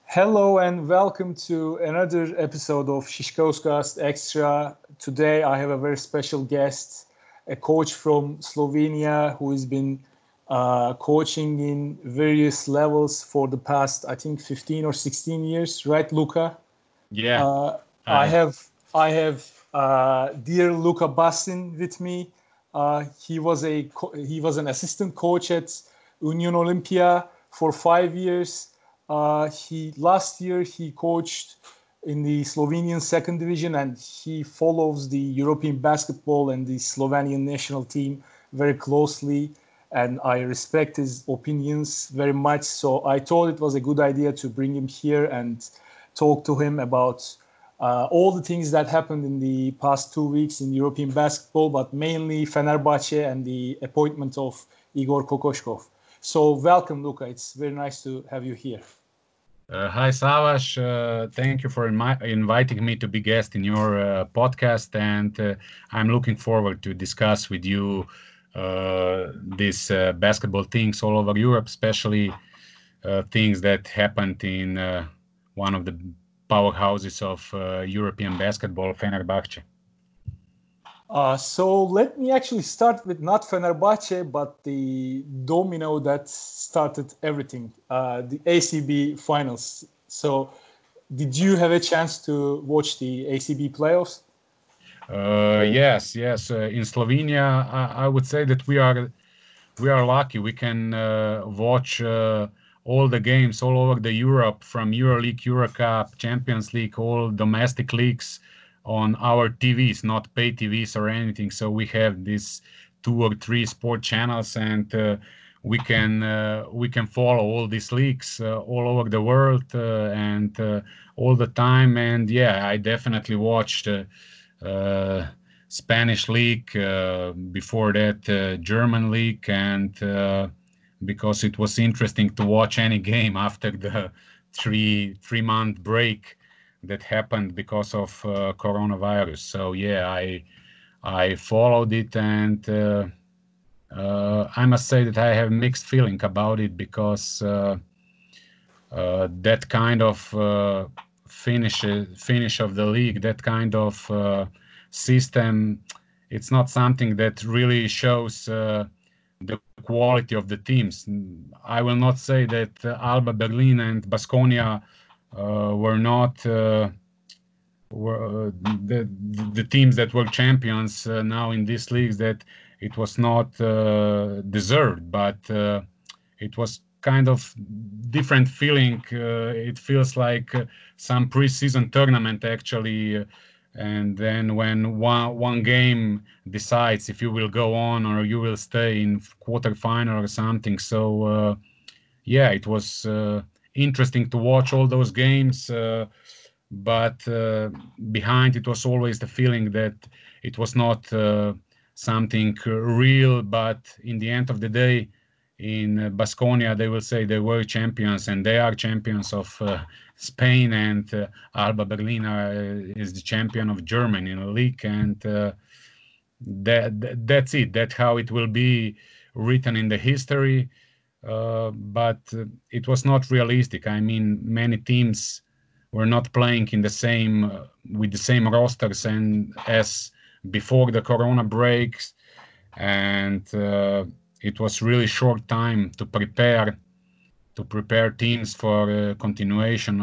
Hello and welcome to another episode of Shishkoscast Extra. Today I have a very special guest, a coach from Slovenia who has been coaching in various levels for the past, I think, 15 or 16 years, right, Luka? Yeah. Uh, I have dear Luka Basin with me. He was an assistant coach at Union Olympia for 5 years. Last year he coached in the Slovenian second division, and he follows the European basketball and the Slovenian national team very closely. And I respect his opinions very much. So I thought it was a good idea to bring him here and talk to him about all the things that happened in the past 2 weeks in European basketball, but mainly Fenerbahce and the appointment of Igor Kokoshkov. So welcome, Luka. It's very nice to have you here. Hi, Savas. Thank you for inviting me to be guest in your podcast, and I'm looking forward to discuss with you these basketball things all over Europe, especially things that happened in one of the powerhouses of European basketball, Fenerbahce. So let me actually start with not Fenerbahce, but the domino that started everything, the ACB finals. So did you have a chance to watch the ACB playoffs? Yes. In Slovenia, I would say that we are lucky. We can watch all the games all over the Europe, from EuroLeague, EuroCup, Champions League, all domestic leagues on our TVs, not pay TVs or anything. So we have these 2 or 3 sport channels, and we can follow all these leagues all over the world and all the time. And yeah, I definitely watched Spanish league, before that German league, and because it was interesting to watch any game after the three-month break that happened because of coronavirus. So yeah, I followed it, and I must say that I have mixed feeling about it, because that kind of finish of the league, that kind of system, it's not something that really shows the quality of the teams. I will not say that Alba Berlin and Baskonia were not the teams that were champions now in these leagues, that it was not deserved, but it was kind of different feeling. It feels like some preseason tournament, actually, and then when one game decides if you will go on or you will stay in quarterfinal or something. So yeah, it was interesting to watch all those games, but behind it was always the feeling that it was not something real. But in the end of the day, in Baskonia, they will say they were champions, and they are champions of Spain, and Alba Berlin is the champion of Germany in the league, and that's it. That's how it will be written in the history. But it was not realistic. I mean, many teams were not playing in the same with the same rosters and as before the Corona breaks, and it was really short time to prepare teams for continuation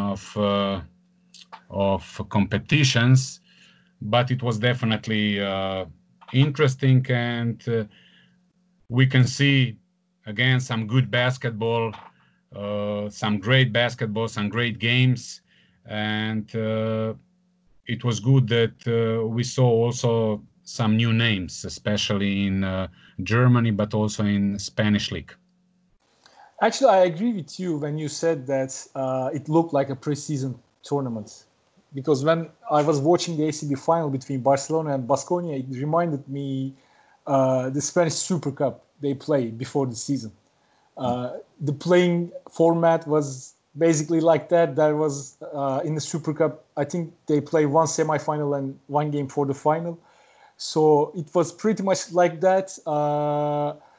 of competitions. But it was definitely interesting, and we can see again some good basketball, some great basketball, some great games, and it was good that we saw also some new names, especially in Germany, but also in Spanish league. Actually, I agree with you when you said that it looked like a preseason tournament. Because when I was watching the ACB final between Barcelona and Baskonia, it reminded me the Spanish Super Cup they played before the season. The playing format was basically like that. There was in the Super Cup, I think they play one semi-final and one game for the final. So it was pretty much like that.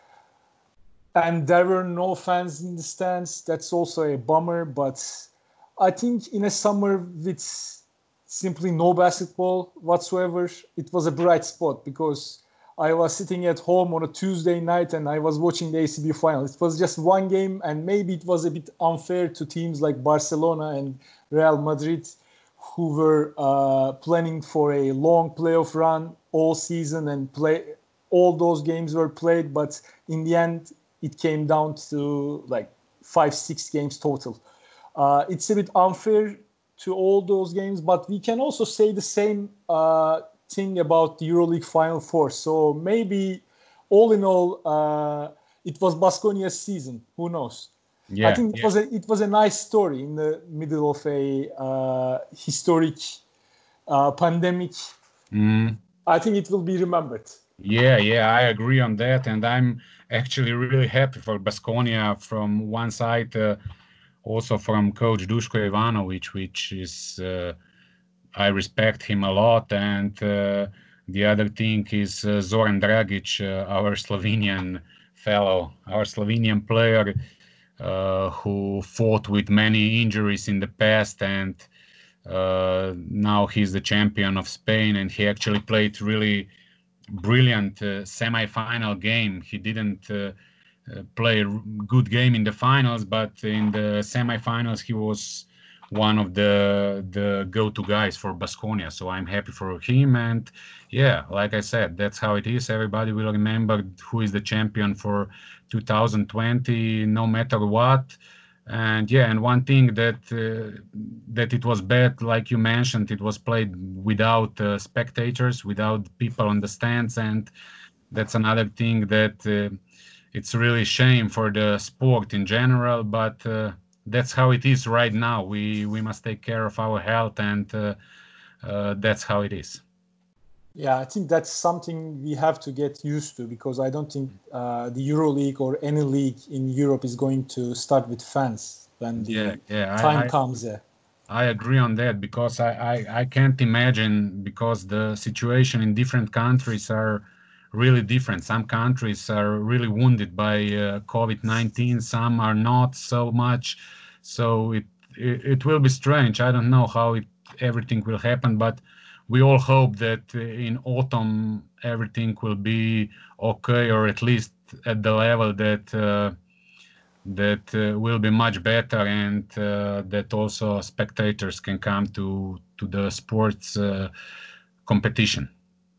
And there were no fans in the stands. That's also a bummer. But I think in a summer with simply no basketball whatsoever, it was a bright spot because I was sitting at home on a Tuesday night and I was watching the ACB final. It was just one game, and maybe it was a bit unfair to teams like Barcelona and Real Madrid, who were planning for a long playoff run all season, and all those games were played. But in the end, it came down to like 5-6 games total. It's a bit unfair to all those games, but we can also say the same thing about the EuroLeague Final Four. So maybe, all in all, it was Baskonia's season. Who knows? Yeah, I think it was a nice story in the middle of a historic pandemic. I think it will be remembered. Yeah, I agree on that, and I'm actually really happy for Baskonia from one side, also from Coach Duško Ivanović, which is I respect him a lot, and the other thing is Zoran Dragic, our Slovenian fellow, our Slovenian player, who fought with many injuries in the past, and now he's the champion of Spain, and he actually played really brilliant semi-final game. He didn't play a good game in the finals, but in the semi-finals he was one of the go-to guys for Baskonia. So I'm happy for him, and yeah, like I said, that's how it is. Everybody will remember who is the champion for 2020, no matter what. And yeah, and one thing that it was bad, like you mentioned, it was played without spectators, without people on the stands, and that's another thing that it's really shame for the sport in general. But that's how it is right now. We must take care of our health, and that's how it is. Yeah, I think that's something we have to get used to, because I don't think the EuroLeague or any league in Europe is going to start with fans when the time comes. I agree on that, because I can't imagine, because the situation in different countries are really different. Some countries are really wounded by COVID-19, some are not so much. So it will be strange. I don't know how everything will happen, but we all hope that in autumn everything will be okay, or at least at the level that will be much better, and that also spectators can come to the sports competition.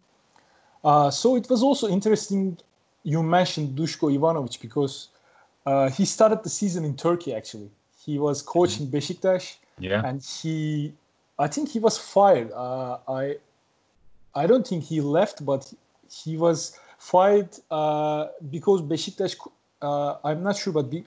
So it was also interesting you mentioned Duško Ivanović, because he started the season in Turkey. Actually, he was coaching Beşiktaş, and I think he was fired. I don't think he left, but he was fired because Beşiktaş. I'm not sure, but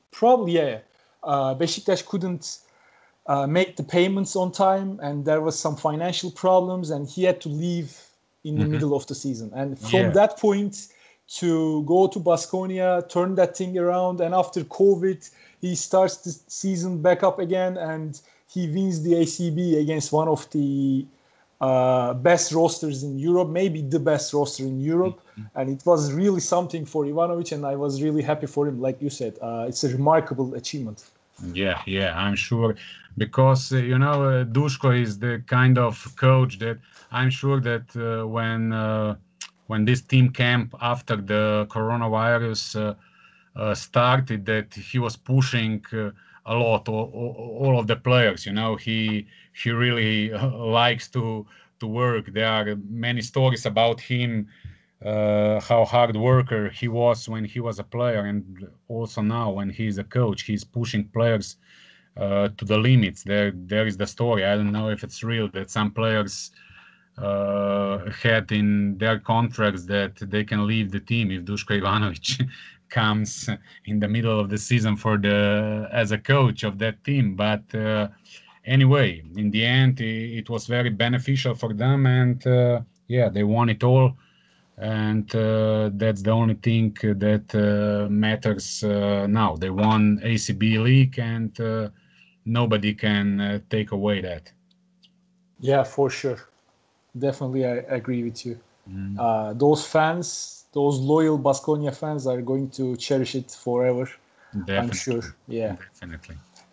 Beşiktaş couldn't make the payments on time, and there was some financial problems, and he had to leave in the middle of the season. And from that point to go to Baskonia, turn that thing around, and after COVID, he starts the season back up again, and he wins the ACB against one of the best rosters in Europe, maybe the best roster in Europe. And it was really something for Ivanović, and I was really happy for him. Like you said, it's a remarkable achievement. Yeah, I'm sure, because Duško is the kind of coach that I'm sure that when this team camp after the coronavirus started, that he was pushing a lot all of the players. He really likes to work. There are many stories about him, how hard worker he was when he was a player, and also now when he's a coach, he's pushing players to the limits. There is the story. I don't know if it's real, that some players had in their contracts that they can leave the team if Duško Ivanović comes in the middle of the season as a coach of that team. But anyway, in the end, it was very beneficial for them, and they won it all. And that's the only thing that matters now. They won ACB League, and nobody can take away that. Yeah, for sure. Definitely, I agree with you. Those fans, those loyal Baskonia fans, are going to cherish it forever. Definitely. I'm sure. Yeah. Definitely.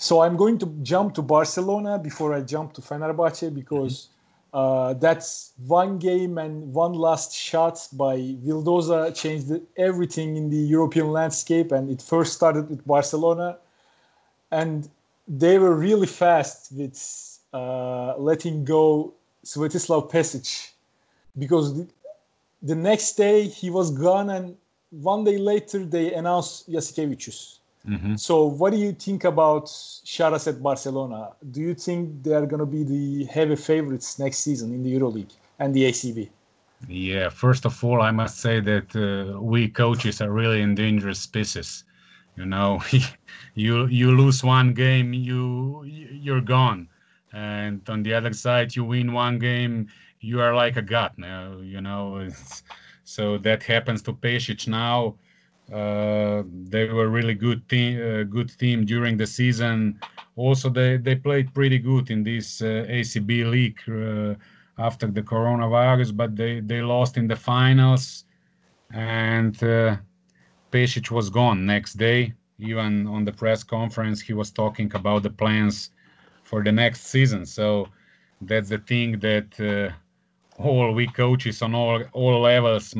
So I'm going to jump to Barcelona before I jump to Fenerbahce, because that's one game and one last shot by Vildoza changed everything in the European landscape, and it first started with Barcelona. And they were really fast with letting go Svetislav Pesic, because the next day he was gone, and one day later they announced Jasikevicius. Mm-hmm. So what do you think about Sharas at Barcelona? Do you think they are going to be the heavy favorites next season in the EuroLeague and the ACB? Yeah, first of all, I must say that we coaches are really endangered species. You know, you lose one game, you're gone, and on the other side, you win one game, you are like a god now. You know, so that happens to Pesic now. They were really good team during the season. Also, they played pretty good in this ACB league after the coronavirus, but they lost in the finals, and Pesic was gone next day. Even on the press conference, he was talking about the plans for the next season. So that's the thing that all we coaches on all levels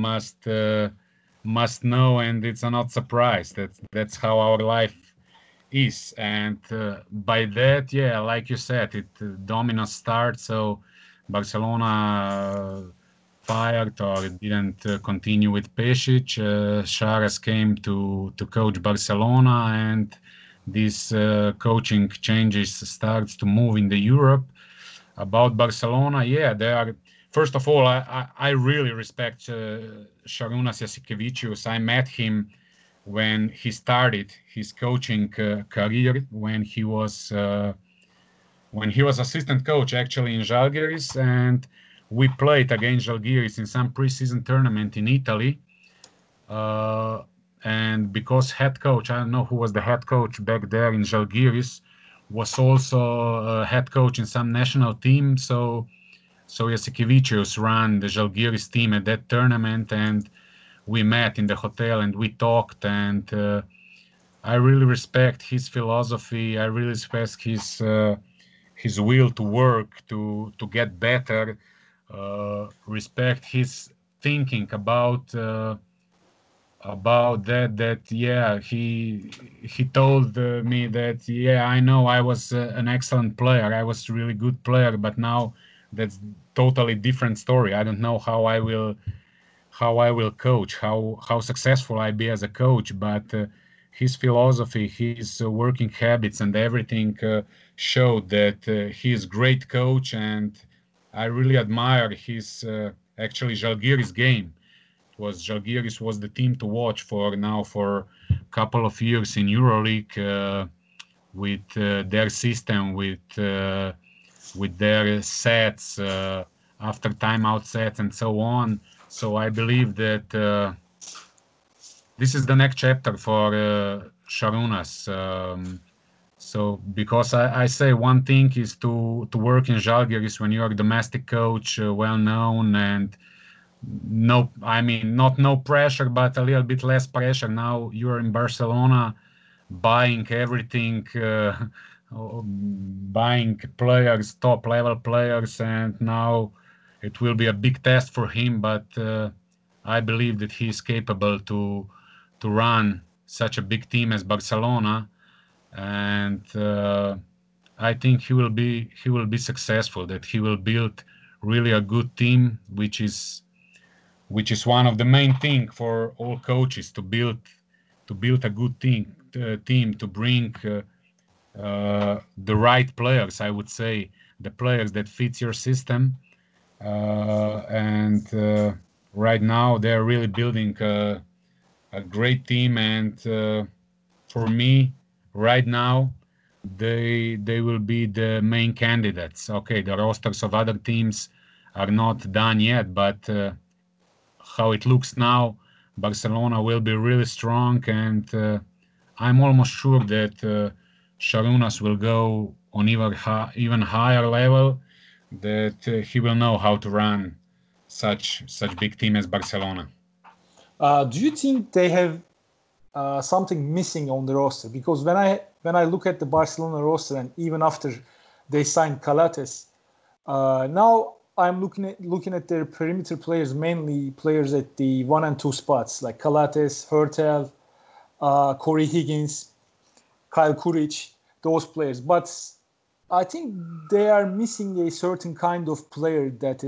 must know, and it's not surprise. That's how our life is. And by that, yeah, like you said, it domino start. So Barcelona fired or didn't continue with Pesic. Sharas came to coach Barcelona, and these coaching changes starts to move in the Europe. About Barcelona, yeah, they are. First of all, I really respect Šarūnas Jasikevičius. I met him when he started his coaching career, when he was assistant coach actually in Žalgiris, and we played against Žalgiris in some preseason tournament in Italy. And because head coach, I don't know who was the head coach back there in Žalgiris, was also head coach in some national team. So Jasikevičius ran the Žalgiris team at that tournament, and we met in the hotel and we talked, and I really respect his philosophy. I really respect his will to work to get better. Respect his thinking about that yeah, he told me that yeah, I know I was an excellent player, I was a really good player, but now that's totally different story. I don't know how I will coach, how successful I be as a coach, but his philosophy, his working habits and everything showed that he is great coach, and I really admire his actually Žalgiris game. Žalgiris was the team to watch for a couple of years in EuroLeague with their system, with their sets after timeout sets and so on. So I believe that this is the next chapter for Šarūnas. So because I say one thing is to work in Žalgiris when you're a domestic coach, well known, and not no pressure, but a little bit less pressure. Now you're in Barcelona, buying everything, buying players, top level players, and now it will be a big test for him. But I believe that he is capable to run such a big team as Barcelona, and I think he will be successful. That he will build really a good team, which is one of the main thing for all coaches, to build a good team to bring the right players. I would say the players that fits your system, and right now they're really building a great team, and for me right now they will be the main candidates. Okay, the rosters of other teams are not done yet, but how it looks now, Barcelona will be really strong, and I'm almost sure that Šarūnas will go on even higher level, that he will know how to run such big team as Barcelona. Do you think they have something missing on the roster? Because when I when I look at the Barcelona roster, and even after they signed Calates, now I'm looking at their perimeter players, mainly players at the 1 and 2 spots, like Calates, Hurtel, Corey Higgins, Kyle Kuric, those players. But I think they are missing a certain kind of player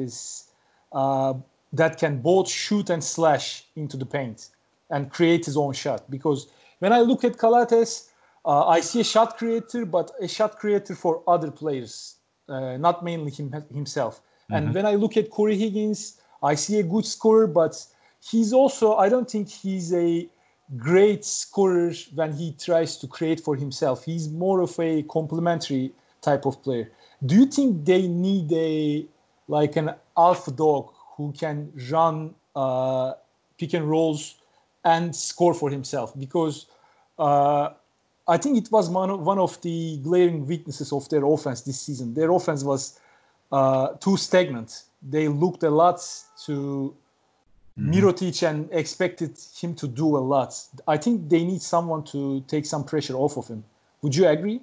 that can both shoot and slash into the paint and create his own shot. Because when I look at Calates, I see a shot creator, but a shot creator for other players, not mainly himself. And when I look at Corey Higgins, I see a good scorer, but I don't think he's a great scorer when he tries to create for himself. He's more of a complementary type of player. Do you think they need an alpha dog who can run pick and rolls and score for himself? Because I think it was one of the glaring weaknesses of their offense this season. Their offense was too stagnant. They looked a lot to Mirotic and expected him to do a lot. I think they need someone to take some pressure off of him. Would you agree?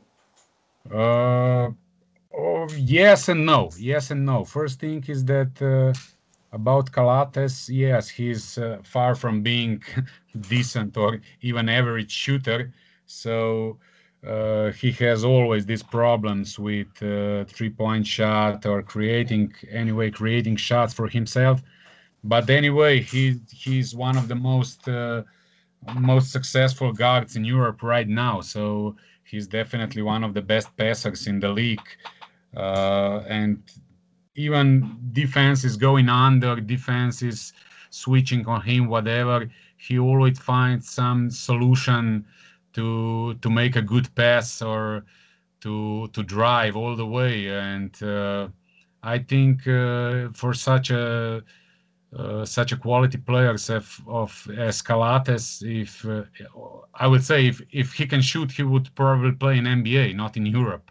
Yes and no. Yes and no. First thing is that about Calates, yes, he's far from being decent or even average shooter. So he has always these problems with three-point shot or creating shots for himself. But anyway, he's one of the most successful guards in Europe right now. So he's definitely one of the best passers in the league. And even defense is going under, defense is switching on him, whatever. He always finds some solution to make a good pass or to drive all the way. And I think for such a quality players as Calates, if I would say if he can shoot, he would probably play in NBA, not in Europe.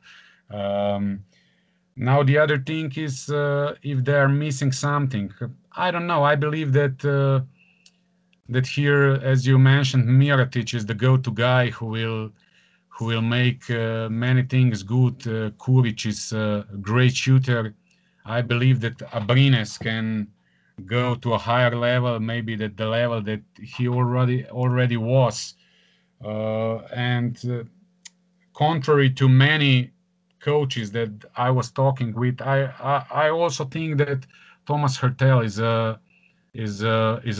Now the other thing is if they are missing something. I don't know. I believe that here, as you mentioned, Mirotic is the go-to guy who will make many things good. Kuric is a great shooter. I believe that Abrines can go to a higher level, maybe that the level that he already was. And contrary to many coaches that I was talking with, I also think that Thomas Hurtel is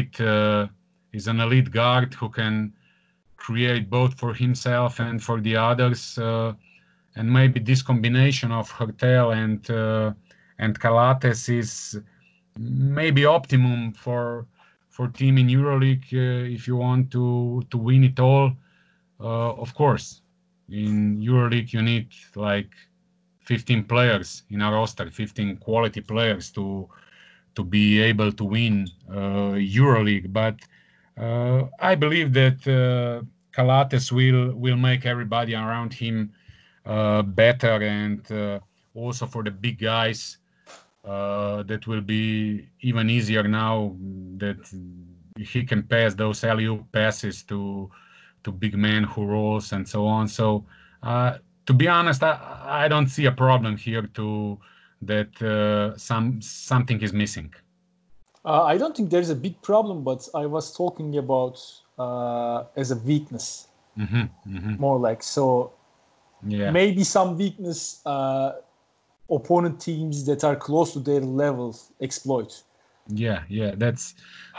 an elite guard who can create both for himself and for the others. And maybe this combination of Hurtel and Calates is maybe optimum for team in EuroLeague if you want to win it all. Of course, in EuroLeague you need like 15 players in a roster, 15 quality players to be able to win EuroLeague. But I believe that Calates will make everybody around him better, and also for the big guys. That will be even easier now that he can pass those alley-oop passes to big men who rolls and so on. So to be honest, I don't see a problem here that something is missing. I don't think there's a big problem, but I was talking about as a weakness, more like so. Yeah. Maybe some weakness. Opponent teams that are close to their level exploit. Yeah, that's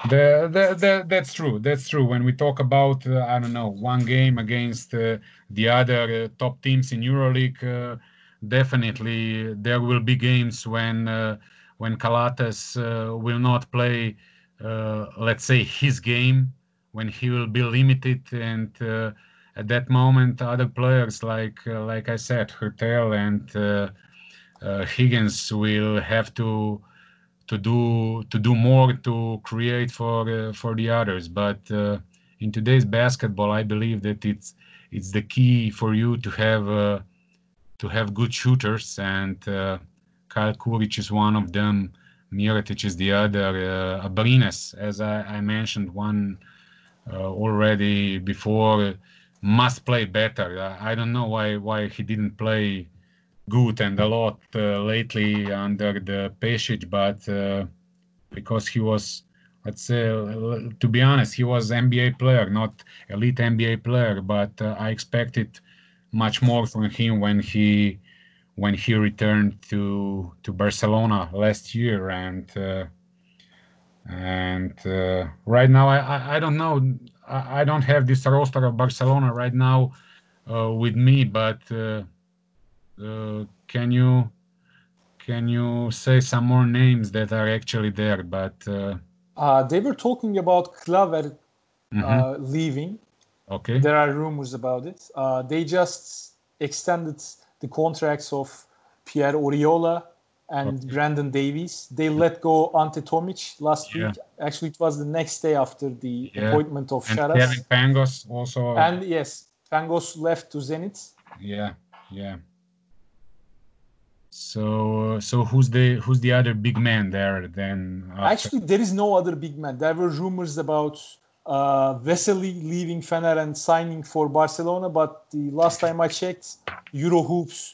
that's true. That's true. When we talk about I don't know, one game against the other top teams in EuroLeague, definitely there will be games when Calates will not play, let's say, his game, when he will be limited, and at that moment other players like I said, Hurtel and Higgins will have to do more to create for the others. But in today's basketball, I believe that it's the key for you to have good shooters, and Kyle Kuric is one of them. Mirotic is the other. Abrines, as I mentioned one already before, must play better. I don't know why he didn't play good and a lot lately under the Pešić, but because he was, let's say, to be honest, he was NBA player, not elite NBA player, but I expected much more from him when he returned to Barcelona last year, and right now I don't know. I don't have this roster of Barcelona right now with me, but can you say some more names that are actually there? But They were talking about Klaver mhm. leaving. Okay. There are rumors about it. They just extended the contracts of Pierre Oriola and Okay. Brandon Davies. They let go Ante Tomic last Yeah, week. Actually, it was the next day after the yeah. appointment of And Kevin Sharas. Pangos also. And yes, Pangos left to Zenit. Yeah, yeah. So who's the other big man there then after? Actually, there is no other big man. There were rumors about Vesely leaving Fener and signing for Barcelona, but the last time I checked, Eurohoops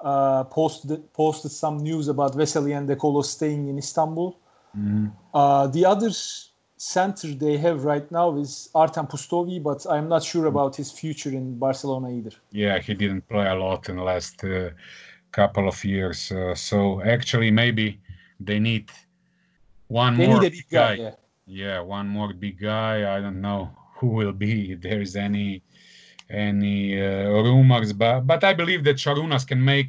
posted some news about Vesely and De Colo staying in Istanbul. Mhm. The other center they have right now is Artem Pustovi, but I'm not sure about his future in Barcelona either. Yeah, he didn't play a lot in the last couple of years. So actually, maybe they need one They need more a big big guy, guy. yeah. Yeah, one more big guy. I don't know who will be. If there is any rumors, but I believe that Sharunas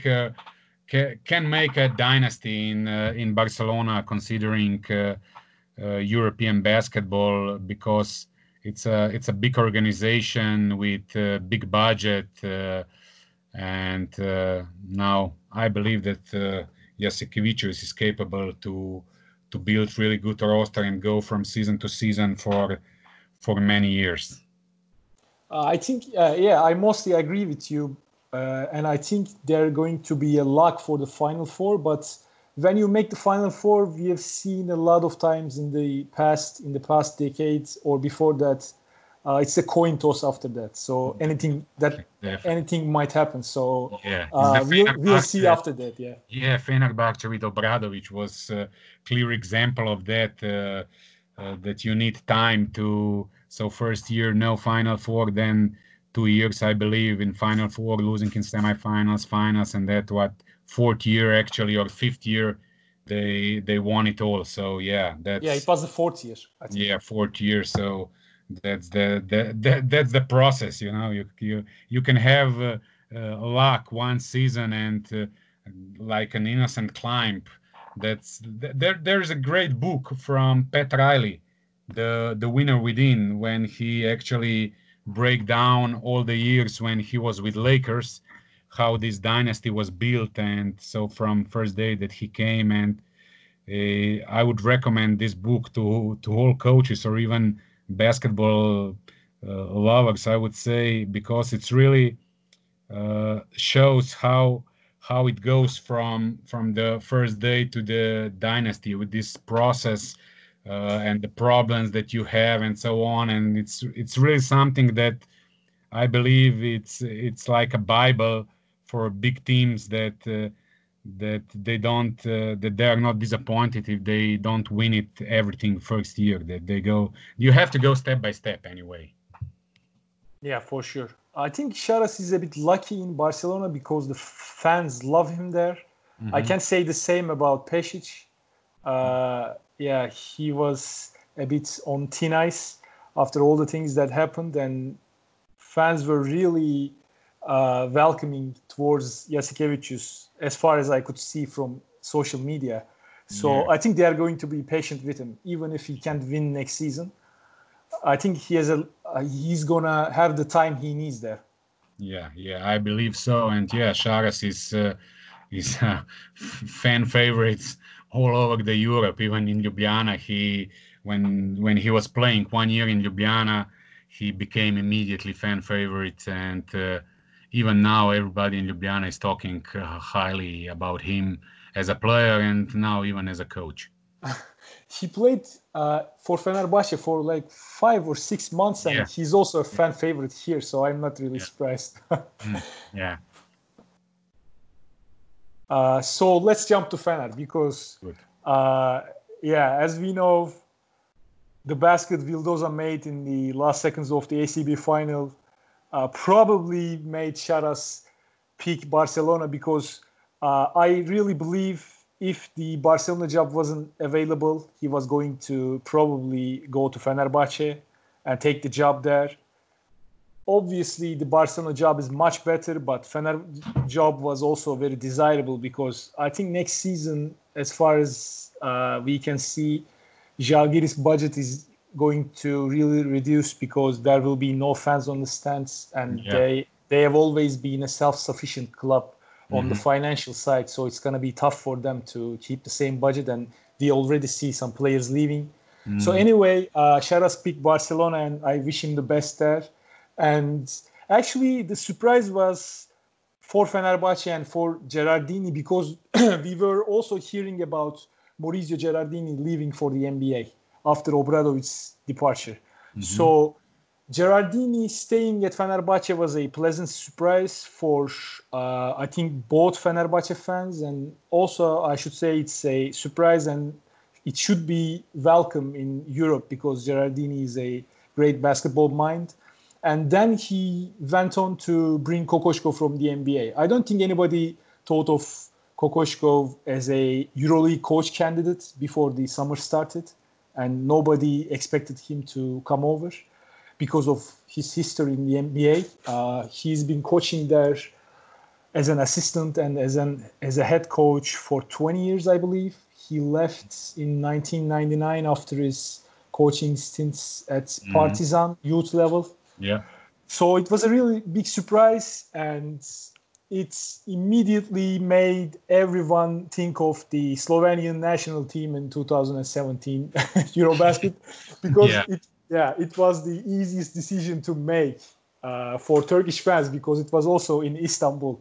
can make a dynasty in Barcelona, considering European basketball, because it's a big organization with big budget, and now I believe that Jasikevicius is capable to build really good roster and go from season to season for many years. I think, yeah, I mostly agree with you. And I think they're going to be a lock for the Final Four. But when you make the Final Four, we have seen a lot of times in the past decades or before that, it's a coin toss after that. So Definitely. anything might happen. So Yeah, the we'll see Fenerbahce. after that. Yeah. Yeah, Fenerbahce with Obradovic was a clear example of that. That you need time to. So first year no Final Four, then 2 years I believe in Final Four, losing in semifinals, finals, and that what fourth year actually or fifth year they won it all. So yeah, Yeah, it that's was the fourth year, I think. yeah fourth year. So that's the process. You can have luck one season and like an innocent climb. There's a great book from Pat Riley, the winner within, when he actually break down all the years when he was with Lakers, how this dynasty was built, and so from first day that he came. And I would recommend this book to all coaches or even basketball lovers, I would say, because it's really shows how it goes from the first day to the dynasty with this process, and the problems that you have and so on. And it's really something that I believe it's like a Bible for big teams, that they are not disappointed if they don't win it everything first year. That they go, you have to go step by step anyway. Yeah, for sure. I think Sharas is a bit lucky in Barcelona because the fans love him there. I Mhm. can't say the same about Pešić. Yeah, he was a bit on thin ice after all the things that happened, and fans were really welcoming towards Jasikevicius, as far as I could see from social media. Yeah, So I think they are going to be patient with him, even if he can't win next season. I think he's gonna have the time he needs there. yeah, I believe so. And yeah, Charas is fan favorites all over the Europe, even in Ljubljana. When he was playing 1 year in Ljubljana, he became immediately fan favorite, and even now everybody in Ljubljana is talking highly about him as a player and now even as a coach. He played for Fenerbahce for like 5 or 6 months, and he's also a fan favorite here, so I'm not really surprised. Yeah. So let's jump to Fener because, as we know, the basket Vildoza made in the last seconds of the ACB final probably made Sharas pick Barcelona because I really believe if the Barcelona job wasn't available, he was going to probably go to Fenerbahce and take the job there. Obviously, the Barcelona job is much better, but Fener job was also very desirable because I think next season, as far as we can see, Žalgiris budget is going to really reduce because there will be no fans on the stands, and they have always been a self-sufficient club on the financial side, so it's going to be tough for them to keep the same budget, and we already see some players leaving. So anyway, Sharas picked Barcelona, and I wish him the best there. And actually, the surprise was for Fenerbahce and for Gerardini because we were also hearing about Maurizio Gerardini leaving for the NBA after Obradovic's departure. So Gerardini staying at Fenerbahce was a pleasant surprise for, I think, both Fenerbahce fans. And also, I should say it's a surprise and it should be welcome in Europe because Gerardini is a great basketball mind. And then he went on to bring Kokoškov from the NBA. I don't think anybody thought of Kokoškov as a EuroLeague coach candidate before the summer started. And nobody expected him to come over because of his history in the NBA. He's been coaching there as an assistant and as a head coach for 20 years, I believe. He left in 1999 after his coaching stints at Partizan youth level. Yeah. So it was a really big surprise, and it immediately made everyone think of the Slovenian national team in 2017 Eurobasket because it was the easiest decision to make for Turkish fans because it was also in Istanbul.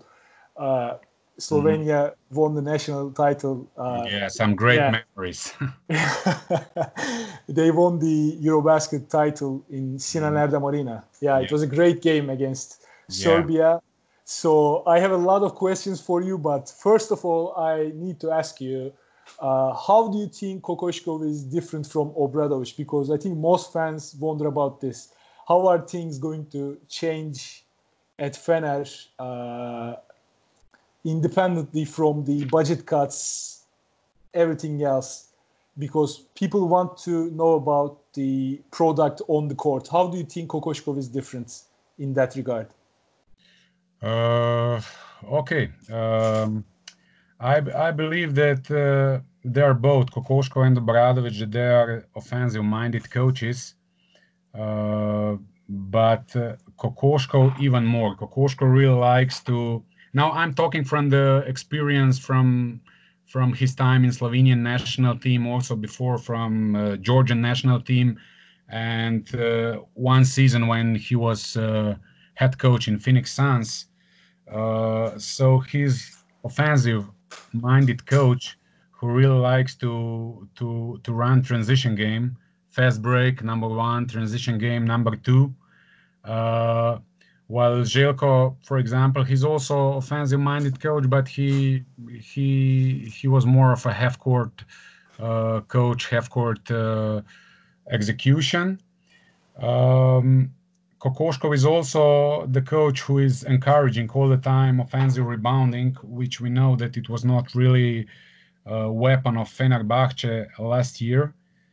Slovenia won the national title. Some great memories. They won the Eurobasket title in Sinan Erdem Arena. It was a great game against Serbia. So I have a lot of questions for you, but first of all, I need to ask you, how do you think Kokoškov is different from Obradovic? Because I think most fans wonder about this. How are things going to change at Fener independently from the budget cuts, everything else? Because people want to know about the product on the court. How do you think Kokoškov is different in that regard? Okay. I believe that they are both, Kokoškov and Obradovic, that they are offensive-minded coaches. But Kokoškov even more. Kokoškov really likes to... Now I'm talking from the experience from his time in Slovenian national team, also before from Georgian national team, and one season when he was head coach in Phoenix Suns. So he's offensive-minded coach who really likes to run transition game, fast break number one, transition game number two. While Željko, for example, he's also offensive-minded coach, but he was more of a half-court coach, half-court execution. Kokoškov is also the coach who is encouraging all the time offensive rebounding, which we know that it was not really a weapon of Fenerbahce last year.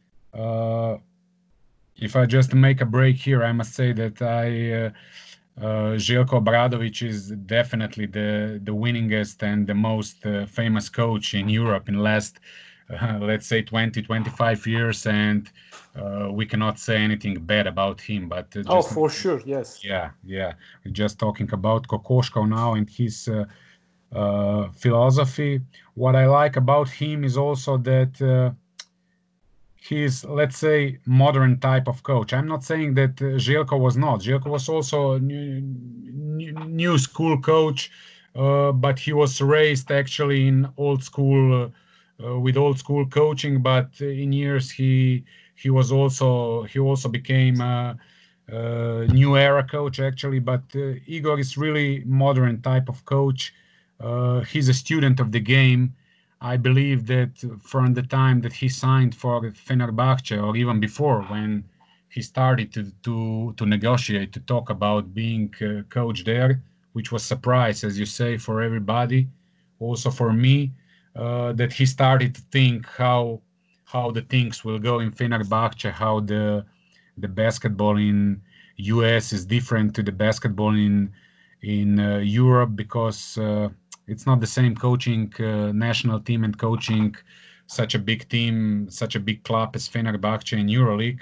If I just make a break here, I must say that Željko Obradovic is definitely the winningest and the most famous coach in Europe in the last, let's say, 20-25 years, and we cannot say anything bad about him. But for sure, yes. Yeah. We're just talking about Kokoškov now and his philosophy. What I like about him is also that he's, let's say, modern type of coach. I'm not saying that Željko was not. Željko was also a new school coach, but he was raised actually in old school with old school coaching, but in years he also became a new era coach actually. But Igor is really modern type of coach. He's a student of the game. I believe that from the time that he signed for Fenerbahce, or even before, when he started to negotiate, to talk about being coach there, which was surprise, as you say, for everybody, also for me, that he started to think how the things will go in Fenerbahce, how the basketball in US is different to the basketball in Europe, because it's not the same coaching national team and coaching such a big team, such a big club as Fenerbahce in EuroLeague.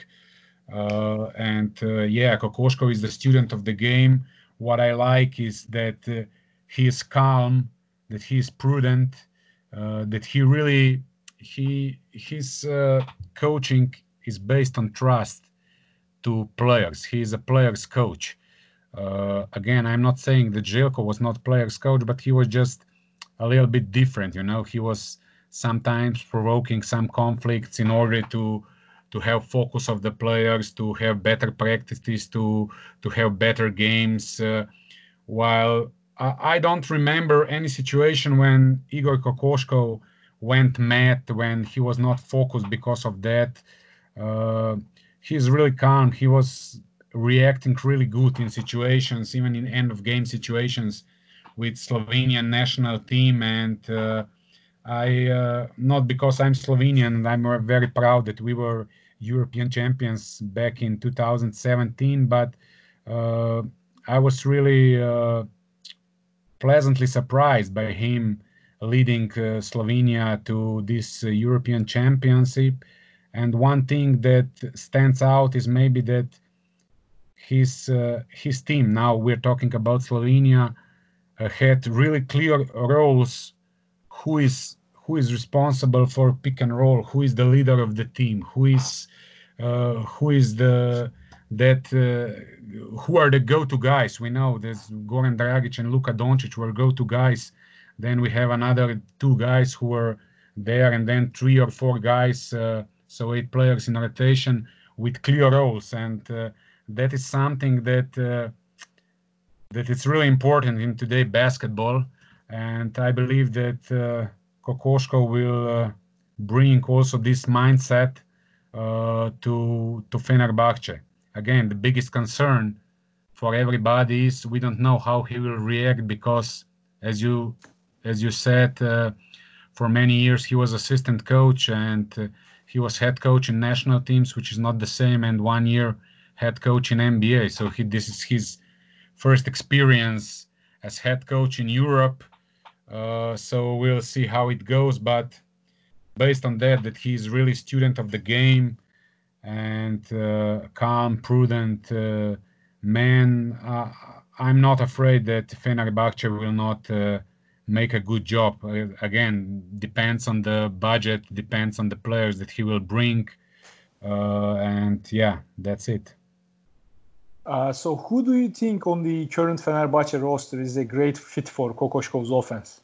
Yeah, Kokoškov is the student of the game. What I like is that he is calm, that he is prudent, that he really his coaching is based on trust to players. He is a players coach. Again, I'm not saying that Željko was not players coach, but he was just a little bit different. He was sometimes provoking some conflicts in order to have focus of the players, to have better practices, to have better games. While I don't remember any situation when Igor Kokoškov went mad, when he was not focused because of that. He's really calm. He was reacting really good in situations, even in end of game situations with Slovenian national team. And I not because I'm Slovenian, I'm very proud that we were European champions back in 2017, but I was really pleasantly surprised by him leading Slovenia to this European championship. And one thing that stands out is maybe that his team, now we're talking about Slovenia, had really clear roles. Who is responsible for pick and roll? Who is the leader of the team? Who are the go-to guys? We know there's Goran Dragic and Luka Doncic were go-to guys. Then we have another two guys who were there, and then 3 or 4 guys, so 8 players in rotation with clear roles. And that is something that it's really important in today basketball. And I believe that Kokoškov will bring also this mindset to Fenerbahce. Again, the biggest concern for everybody is we don't know how he will react, because as you said, for many years he was assistant coach, and he was head coach in national teams, which is not the same, and 1 year head coach in NBA. So this is his first experience as head coach in Europe. So we'll see how it goes. But based on that he's really student of the game and calm, prudent man, I'm not afraid that Fenerbahce will not make a good job. Again, depends on the budget, depends on the players that he will bring. And yeah, that's it. So who do you think on the current Fenerbahce roster is a great fit for Kokoškov's offense?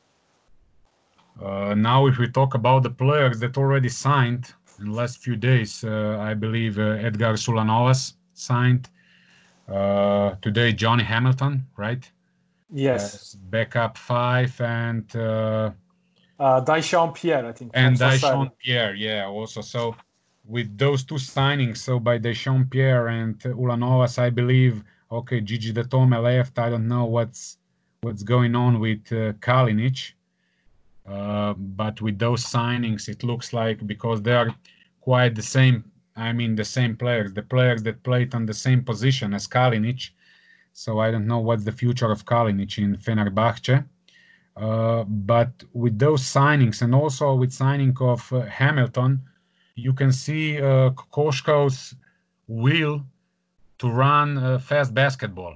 Now, if we talk about the players that already signed in the last few days, I believe Edgars Ulanovas signed. Today, Johnny Hamilton, right? Yes. Backup 5, and Daishan Pierre, I think. And Daishan Pierre, yeah, also. So with those two signings, so by Daishan Pierre and Ulanovas, I believe, okay, Gigi Datome left. I don't know what's going on with Kalinic. But with those signings, it looks like, because they are quite the same, I mean, the same players, the players that played on the same position as Kalinic. So I don't know what's the future of Kalinic in Fenerbahce. But with those signings, and also with signing of Hamilton, you can see Kokoškov's will to run fast basketball.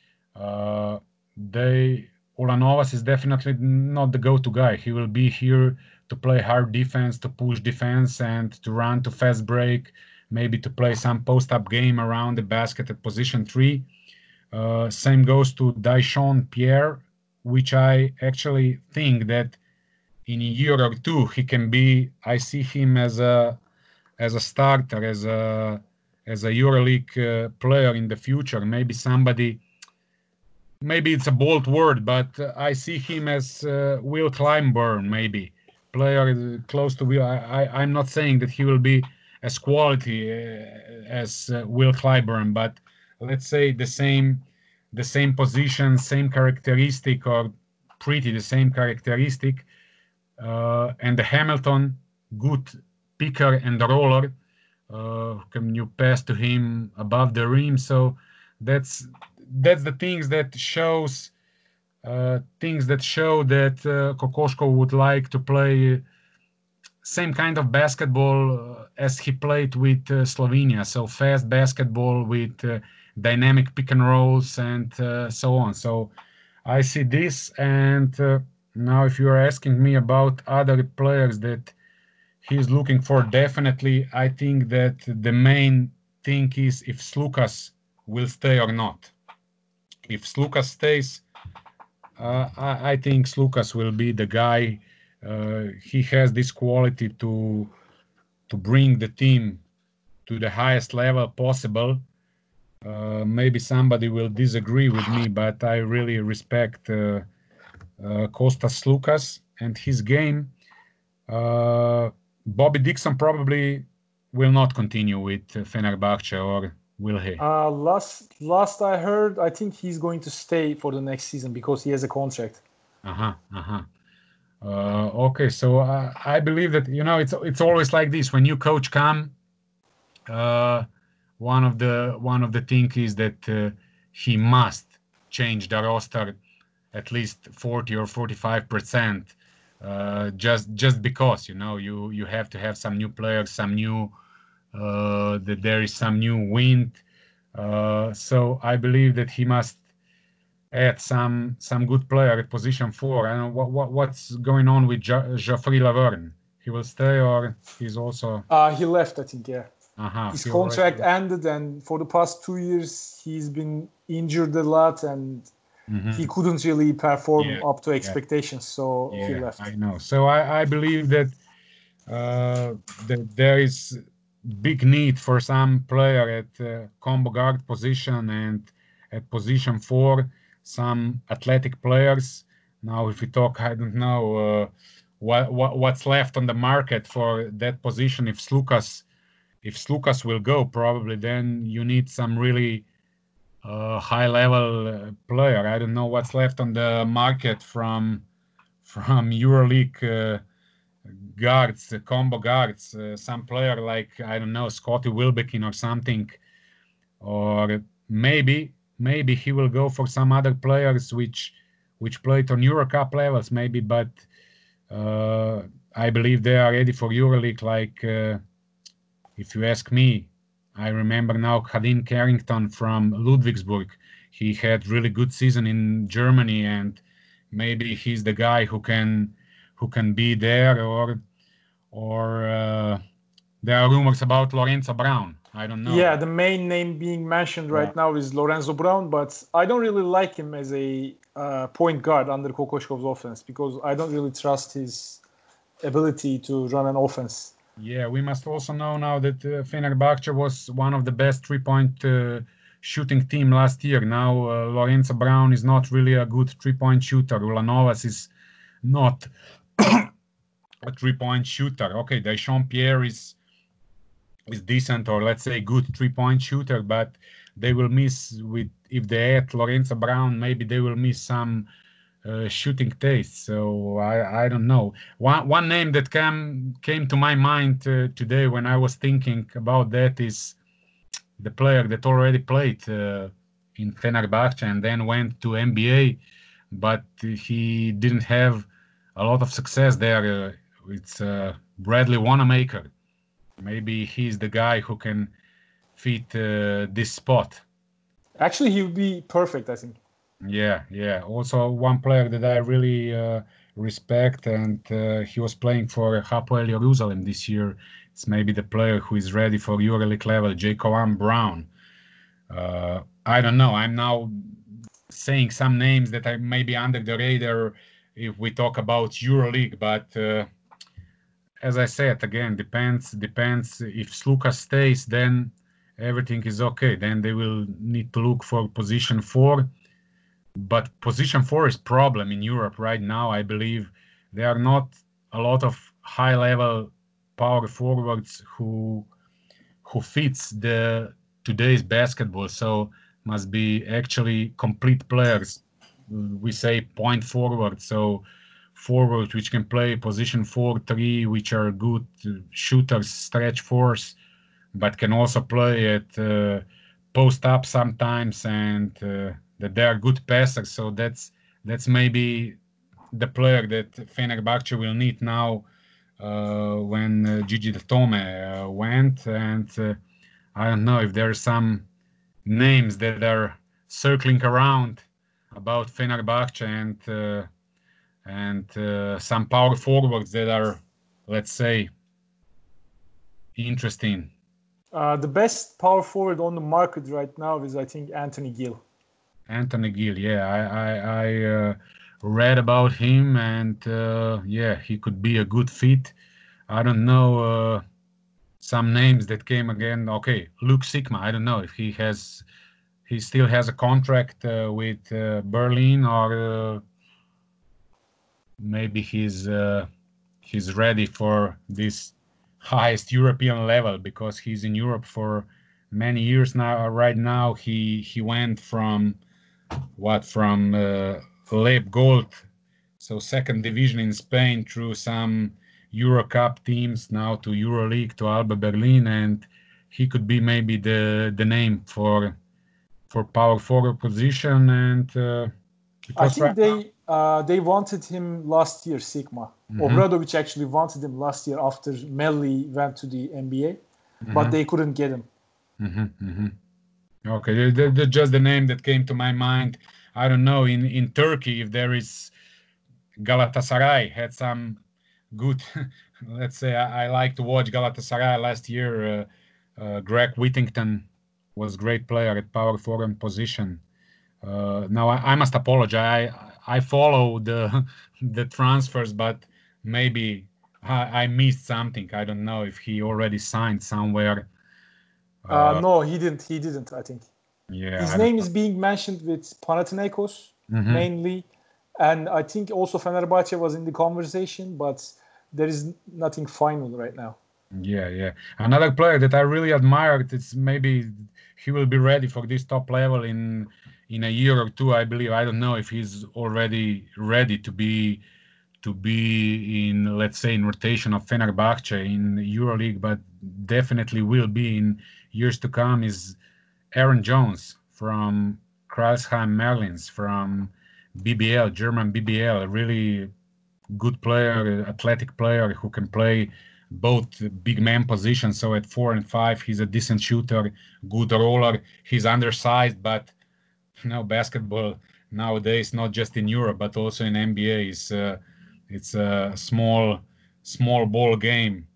Ulanovas is definitely not the go-to guy. He will be here to play hard defense, to push defense, and to run to fast break, maybe to play some post-up game around the basket at position 3. Same goes to Daishan Pierre, which I actually think that in a year or two he can be. I see him as a starter, as a EuroLeague player in the future. Maybe somebody. Maybe it's a bold word, but I see him as Will Clyburn, maybe player close to Will. I'm not saying that he will be as quality as Will Clyburn, but let's say the same position, same characteristic, or pretty the same characteristic. And the Hamilton, good picker and roller. Can you pass to him above the rim? So that's the things that show that Kokoškov would like to play same kind of basketball as he played with Slovenia. So fast basketball with dynamic pick and rolls and so on. So I see this. And now if you are asking me about other players that he's looking for, definitely I think that the main thing is if Slukas will stay or not. If Slukas stays, I think Slukas will be the guy. He has this quality to bring the team to the highest level possible. Maybe somebody will disagree with me, but I really respect Kostas Slukas and his game. Bobby Dixon probably will not continue with Fenerbahce, or will he? Last I heard, I think he's going to stay for the next season because he has a contract. Okay, so I believe that it's always like this when new coach come. One of the things is that he must change the roster at least 40 or 45%. Just because you have to have some new players, some new that there is some new wind. So I believe that he must add some good player at position 4. I don't know what's going on with Geoffrey Laverne. He will stay, or he's also he left, I think. Yeah. His contract ended, and for the past 2 years he's been injured a lot, and he couldn't really perform up to expectations, so he left. I know. So I believe that there is big need for some player at combo guard position and at position 4, some athletic players. Now, if we talk, I don't know what's left on the market for that position. If Slukas will go, probably then you need some really high-level player. I don't know what's left on the market from EuroLeague guards, combo guards. Some player like, I don't know, Scotty Wilbekin or something, or maybe he will go for some other players which played on EuroCup levels, maybe. But I believe they are ready for EuroLeague. Like if you ask me, I remember now Khadin Carrington from Ludwigsburg. He had really good season in Germany, and maybe he's the guy who can be there. Or there are rumors about Lorenzo Brown. I don't know. Yeah, the main name being mentioned right now is Lorenzo Brown, but I don't really like him as a point guard under Kokoškov's offense because I don't really trust his ability to run an offense. Yeah, we must also know now that Fenerbahce was one of the best three-point shooting team last year. Now Lorenzo Brown is not really a good three-point shooter. Ulanovas is not a three-point shooter. Okay, Deschamps Pierre is decent, or let's say good three-point shooter, but they will miss if they add Lorenzo Brown, maybe they will miss some shooting taste. So I don't know. One name that came to my mind today when I was thinking about that is the player that already played in Fenerbahce and then went to NBA, but he didn't have a lot of success there. It's Bradley Wanamaker. Maybe he's the guy who can fit this spot. Actually, he would be perfect, I think. Yeah. Also, one player that I really respect, and he was playing for Hapoel Jerusalem this year. It's maybe the player who is ready for EuroLeague level, Jacob Brown. I don't know. I'm now saying some names that are maybe under the radar if we talk about EuroLeague. But as I said, again, depends. If Sluka stays, then everything is okay. Then they will need to look for position 4. But position 4 is problem in Europe right now. I believe there are not a lot of high-level power forwards who fits the today's basketball. So must be actually complete players. We say point forward. So forward which can play position 4, 3, which are good shooters, stretch fours, but can also play at post up sometimes, and that they are good passers. So that's maybe the player that Fenerbahce will need now when Gigi Datome went. And I don't know if there are some names that are circling around about Fenerbahce and some power forwards that are, let's say, interesting. The best power forward on the market right now is, I think, Anthony Gill. Anthony Gill, yeah, I read about him, and yeah, he could be a good fit. I don't know some names that came again. Okay, Luke Sigma. I don't know if he still has a contract with Berlin, or maybe he's ready for this highest European level, because he's in Europe for many years now. Right now, he went from Leb Gold, so second division in Spain, through some Euro Cup teams, now to EuroLeague, to Alba Berlin, and he could be maybe the name for power forward position. And I think they wanted him last year, Sigma. Obradovic actually wanted him last year after Melli went to the NBA, but they couldn't get him. Okay, that's just the name that came to my mind. I don't know, in Turkey, if there is Galatasaray had some good, let's say, I like to watch Galatasaray last year. Greg Whittington was a great player at power forward position. Now I must apologize. I follow the transfers, but maybe I missed something. I don't know if he already signed somewhere. No, he didn't. I think. Yeah, his name is being mentioned with Panathinaikos mainly, and I think also Fenerbahce was in the conversation, but there is nothing final right now. Yeah. Another player that I really admired, it's maybe he will be ready for this top level in a year or two, I believe. I don't know if he's already ready to be in, let's say, in rotation of Fenerbahce in EuroLeague, but definitely will be in years to come, is Aaron Jones from Kreisheim Merlins, from BBL, German BBL, a really good player, athletic player who can play both big man positions. So at 4 and 5, he's a decent shooter, good roller. He's undersized, but basketball nowadays, not just in Europe but also in NBA, it's a small ball game.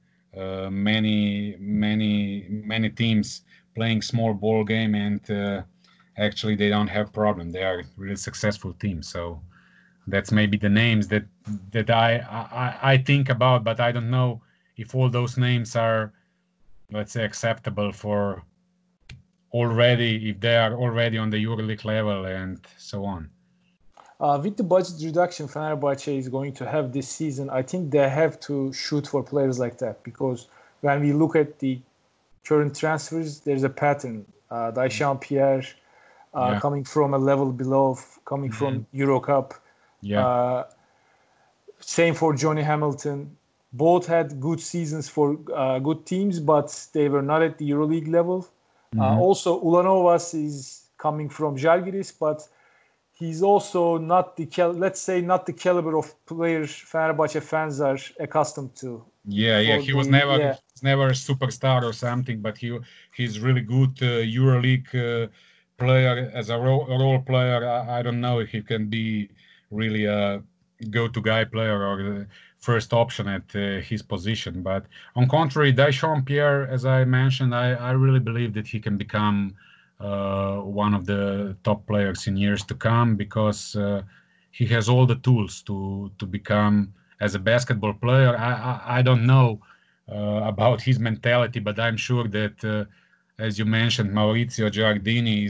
Many teams playing small ball game, and actually they don't have problem. They are really successful teams. So that's maybe the names that I think about, but I don't know if all those names are, let's say, acceptable for already, if they are already on the EuroLeague level and so on. With the budget reduction Fenerbahce is going to have this season, I think they have to shoot for players like that, because when we look at the current transfers, there's a pattern. Daishan Pierre coming from a level below, coming from Euro Cup. Yeah. Same for Johnny Hamilton. Both had good seasons for good teams, but they were not at the EuroLeague level. Also, Ulanovas is coming from Žalgiris, but he's also not the caliber of players Fenerbahce fans are accustomed to. Yeah. He was never a superstar or something, but he's really good EuroLeague player as a role player. I don't know if he can be really a go-to guy player or the first option at his position. But on contrary, Daishan Pierre, as I mentioned, I really believe that he can become one of the top players in years to come, because he has all the tools to become as a basketball player. I don't know about his mentality, but I'm sure that, as you mentioned, Maurizio Giardini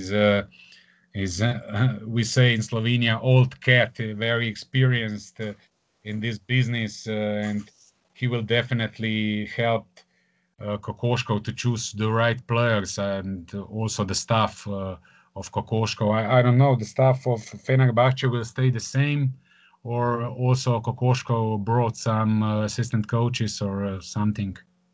is we say in Slovenia, old cat, very experienced in this business, and he will definitely help Kokoškov to choose the right players, and also the staff of Kokoškov. I don't know, the staff of Fenerbahce will stay the same, or also Kokoškov brought some assistant coaches or something.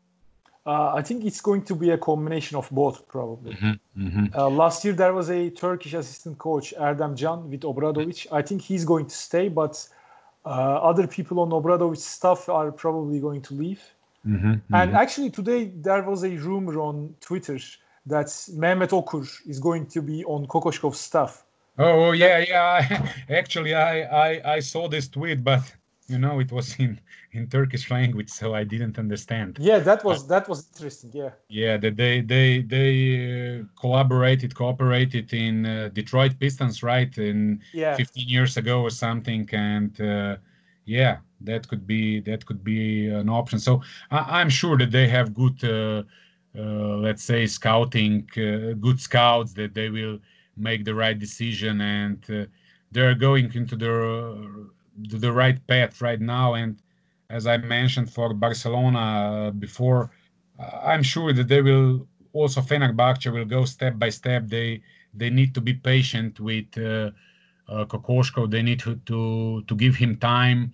I think it's going to be a combination of both, probably. Last year, there was a Turkish assistant coach, Erdem Can, with Obradovic. I think he's going to stay, but other people on Obradovic's staff are probably going to leave. And actually, today, there was a rumor on Twitter that Mehmet Okur is going to be on Kokoškov's staff. Oh, yeah. Actually, I saw this tweet, but it was in Turkish language, so I didn't understand. Yeah, that was interesting. Yeah. Yeah, that they cooperated in Detroit Pistons, right? 15 years ago or something, and yeah, that could be an option. So I'm sure that they have good, let's say, scouting, good scouts, that they will make the right decision, and they're going into the right path right now. And as I mentioned for Barcelona before, I'm sure that they will also, Fenerbahce will go step by step. They need to be patient with Kokoškov. They need to give him time.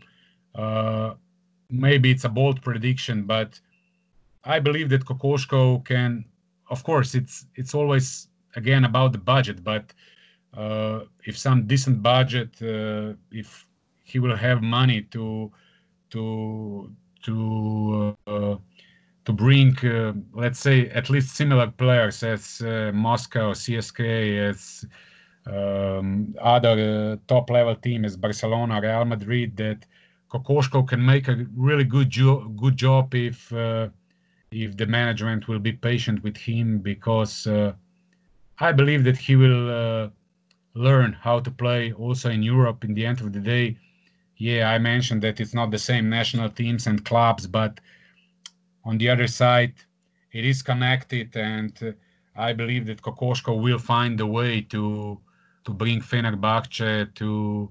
Maybe it's a bold prediction, but I believe that Kokoškov can. Of course, it's always again about the budget, but if some decent budget, if he will have money to bring, let's say, at least similar players as Moscow, CSKA, as other top-level team as Barcelona, Real Madrid, that Kokoškov can make a really good job if the management will be patient with him, because I believe that he will learn how to play also in Europe. In the end of the day, yeah, I mentioned that it's not the same national teams and clubs, but on the other side, it is connected, and I believe that Kokoškov will find a way to bring Fenerbahce to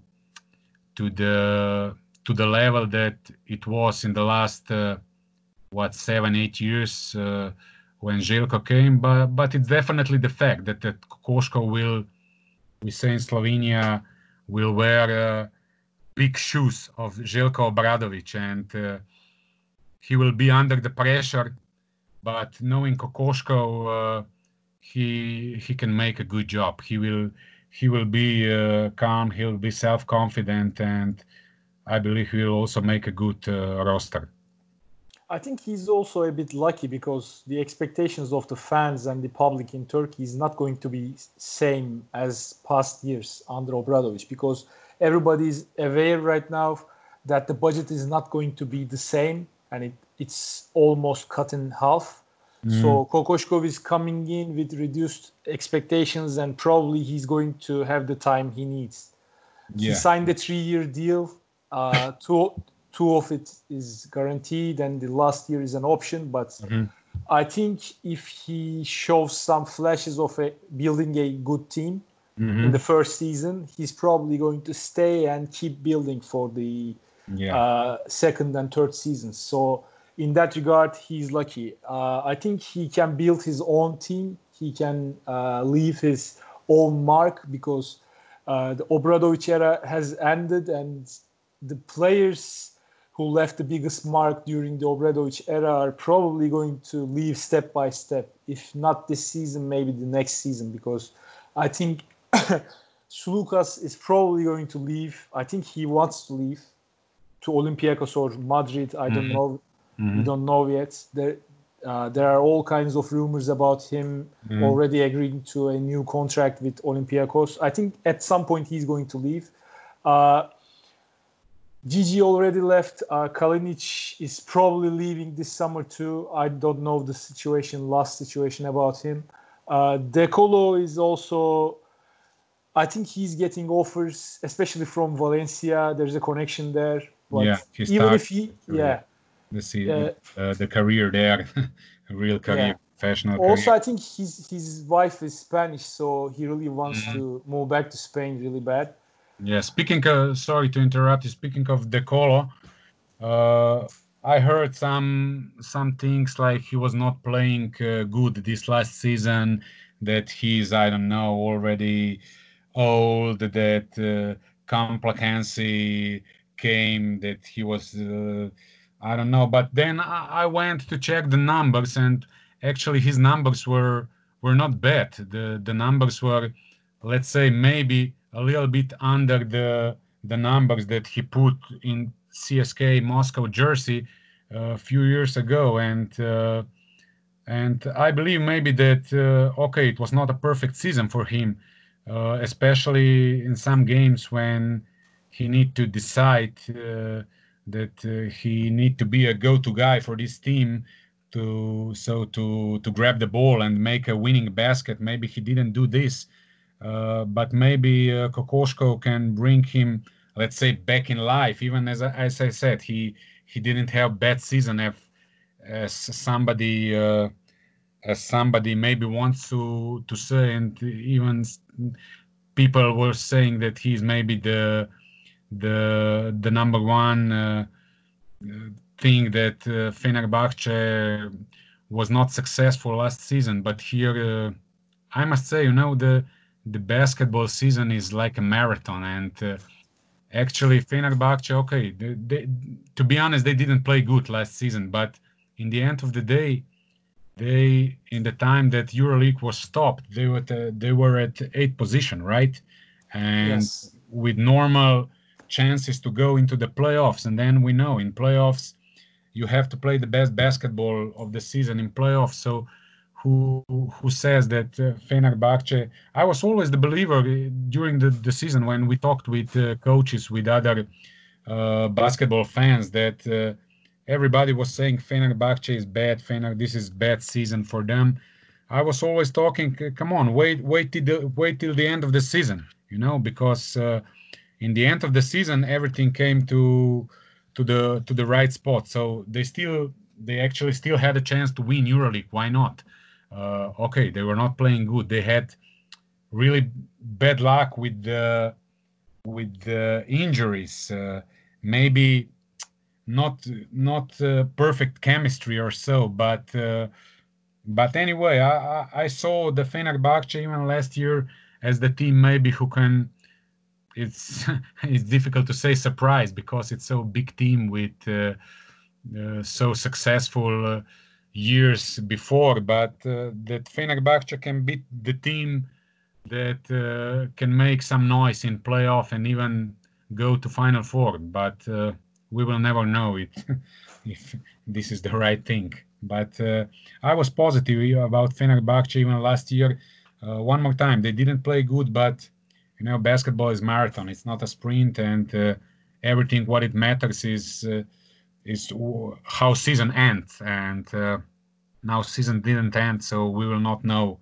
the level that it was in the last 7-8 years when Željko came. But it's definitely the fact that Kokoškov will, we say in Slovenia, will wear big shoes of Željko Obradovic, and he will be under the pressure. But knowing Kokoškov, he can make a good job. He will be calm. He'll be self-confident, and I believe he will also make a good roster. I think he's also a bit lucky, because the expectations of the fans and the public in Turkey is not going to be same as past years under Obradovic, because everybody is aware right now that the budget is not going to be the same, and it's almost cut in half. So Kokoškov is coming in with reduced expectations, and probably he's going to have the time he needs. Yeah. He signed a 3-year deal. Two of it is guaranteed, and the last year is an option. But I think if he shows some flashes of building a good team in the first season, he's probably going to stay and keep building for the second and third seasons. So in that regard, he's lucky. I think he can build his own team. He can leave his own mark, because the Obradovic era has ended, and the players who left the biggest mark during the Obradovic era are probably going to leave step by step. If not this season, maybe the next season, because I think Sulukas is probably going to leave. I think he wants to leave to Olympiacos or Madrid. I don't know. We don't know yet. There are all kinds of rumors about him already agreeing to a new contract with Olympiacos. I think at some point he's going to leave. Gigi already left. Kalinic is probably leaving this summer too. I don't know the last situation about him. Dekolo is also I think he's getting offers, especially from Valencia. There's a connection there. Yeah, But he even if started he, career. yeah, The career there, a real career, yeah. professional Also, career. I think his wife is Spanish, so he really wants Mhm. to move back to Spain really bad. Yeah, speaking sorry to interrupt you. Speaking of De Colo, uh, I heard some things like he was not playing good this last season. That he's, I don't know, already old. That complacency came. That he was, I don't know. But then I went to check the numbers, and actually his numbers were not bad. The numbers were, let's say, maybe a little bit under the numbers that he put in CSK Moscow jersey a few years ago, and I believe maybe that okay, it was not a perfect season for him, especially in some games when he need to decide that he need to be a go-to guy for this team to grab the ball and make a winning basket. Maybe he didn't do this, but maybe Kokoschko can bring him, let's say, back in life. Even as I said, he didn't have bad season as somebody maybe wants to say, and even people were saying that he's maybe the number one thing that Fenerbahce was not successful last season. But here, I must say, the basketball season is like a marathon, and actually Fenerbahce, okay, to be honest, they didn't play good last season, but in the end of the day, they in the time that EuroLeague was stopped, they were at eighth position, right? And Yes. with normal chances to go into the playoffs. And then we know in playoffs you have to play the best basketball of the season in playoffs. So who says that Fenerbahce? I was always the believer during the season when we talked with coaches, with other basketball fans, that everybody was saying Fenerbahce is bad. This is bad season for them. I was always talking, come on, wait till the end of the season, because in the end of the season everything came to the right spot. So they actually still had a chance to win EuroLeague. Why not? Okay, they were not playing good. They had really bad luck with the injuries. Maybe not perfect chemistry or so, but anyway, I saw the Fenerbahce even last year as the team maybe who can. It's it's difficult to say surprise because it's so big team with so successful years before, but that Fenerbahce can beat the team that can make some noise in playoff and even go to Final Four. But we will never know it if this is the right thing. But I was positive about Fenerbahce even last year. One more time, they didn't play good, but basketball is marathon. It's not a sprint, and everything what it matters is how season ends. And now season didn't end, so we will not know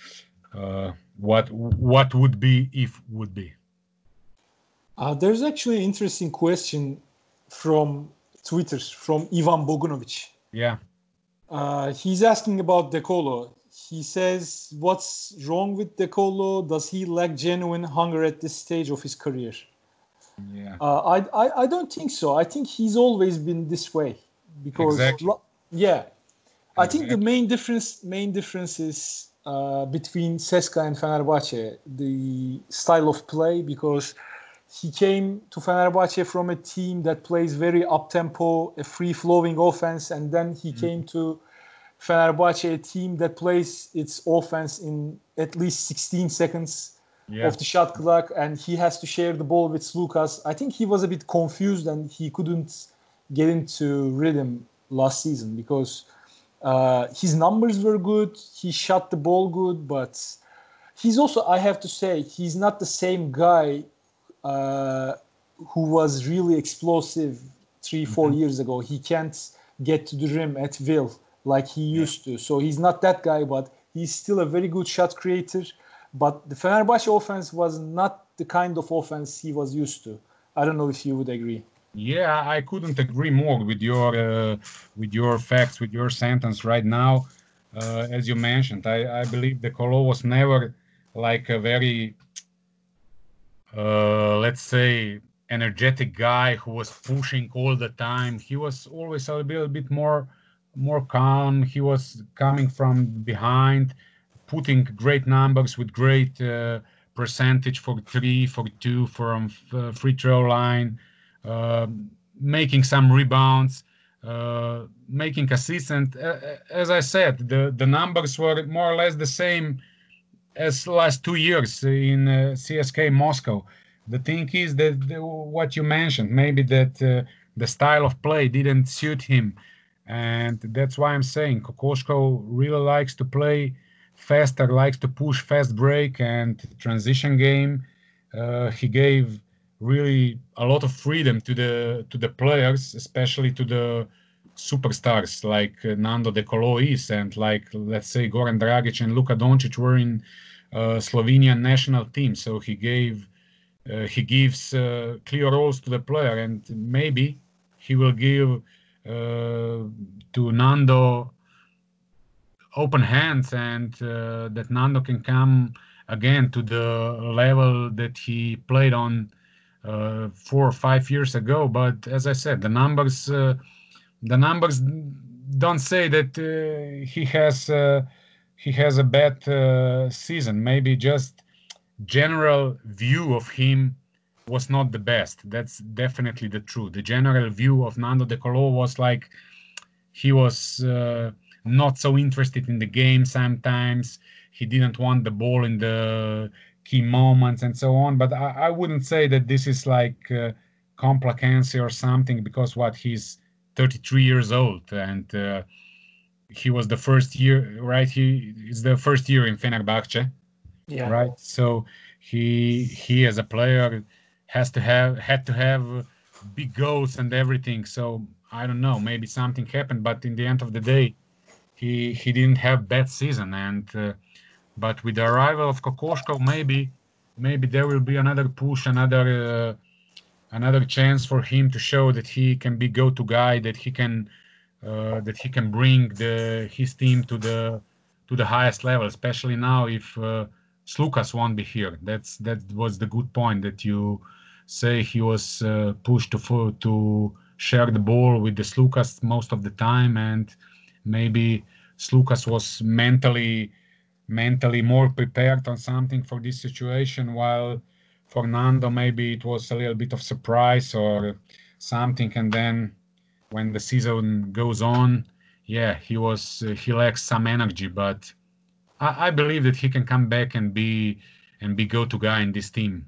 what would be if would be. There's actually an interesting question from Twitter from Ivan Bogunovic. Yeah. He's asking about De Colo. He says, what's wrong with De Colo? Does he lack genuine hunger at this stage of his career? Yeah. I don't think so. I think he's always been this way because Exactly. I think the main difference is between CSKA and Fenerbahce, the style of play, because he came to Fenerbahce from a team that plays very up-tempo, a free-flowing offense, and then he came to Fenerbahce, a team that plays its offense in at least 16 seconds of the shot clock, and he has to share the ball with Lucas. I think he was a bit confused and he couldn't get into rhythm last season because his numbers were good, he shot the ball good, but he's also, I have to say, he's not the same guy who was really explosive 3-4 years ago. He can't get to the rim at will like he used to. So he's not that guy, but he's still a very good shot creator. but the Fenerbahce offense was not the kind of offense he was used to. I don't know if you would agree. Yeah, I couldn't agree more with your facts, with your sentence right now. As you mentioned, I believe the Colo was never like a very, let's say, energetic guy who was pushing all the time. He was always a little bit more calm. He was coming from behind, putting great numbers with great percentage for three, for two, from free throw line, uh, making some rebounds, making assists. And as I said, the numbers were more or less the same as last 2 years in CSK Moscow. The thing is that what you mentioned, maybe that the style of play didn't suit him, and that's why I'm saying Kokoškov really likes to play faster, likes to push fast break and transition game. He gave really a lot of freedom to the players, especially to the superstars like Nando De Colo is, and like, let's say, Goran Dragic and Luka Doncic were in Slovenian national team. So he gives clear roles to the player, and maybe he will give to Nando open hands, and that Nando can come again to the level that he played on 4 or 5 years ago. But as I said, the numbers don't say that he has a bad season. Maybe just general view of him was not the best. That's definitely the truth. The general view of Nando De Colo was like he was not so interested in the game sometimes. He didn't want the ball in the key moments and so on. But I wouldn't say that this is like complacency or something, because what, he's 33 years old, and he was the first year, right? He is the first year in Fenerbahce, Yeah. right? So he as a player had to have big goals and everything. So I don't know, maybe something happened, but in the end of the day, he didn't have bad season. And but with the arrival of Kokoškov, maybe there will be another push, another chance for him to show that he can be go-to guy, that he can bring his team to the highest level, especially now if Slukas won't be here. That was the good point that you say. He was pushed to share the ball with the Slukas most of the time, and maybe Slukas was mentally more prepared on something for this situation, while for Nando maybe it was a little bit of surprise or something. And then when the season goes on, yeah, he lacks some energy, but I believe that he can come back and be go-to guy in this team.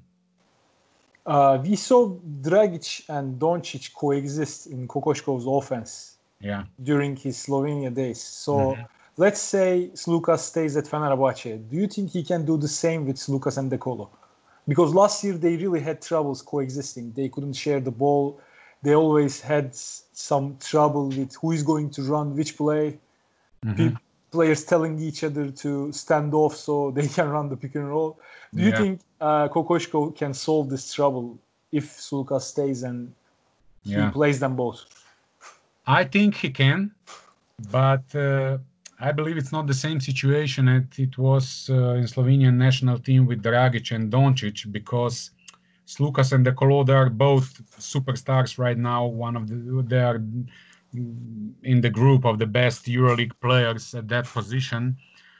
We saw Dragic and Doncic coexist in Kokoškov's offense during his Slovenia days. So let's say Slukas stays at Fenerbahce. Do you think he can do the same with Slukas and De Colo? Because last year they really had troubles coexisting. They couldn't share the ball. They always had some trouble with who is going to run which play. Players telling each other to stand off so they can run the pick and roll. Do you think Kokoškov can solve this trouble if Slukas stays and he plays them both? I think he can, but I believe it's not the same situation that it was in Slovenian national team with Dragic and Doncic, because Slukas and De Colo, they are both superstars right now. They are in the group of the best EuroLeague players at that position.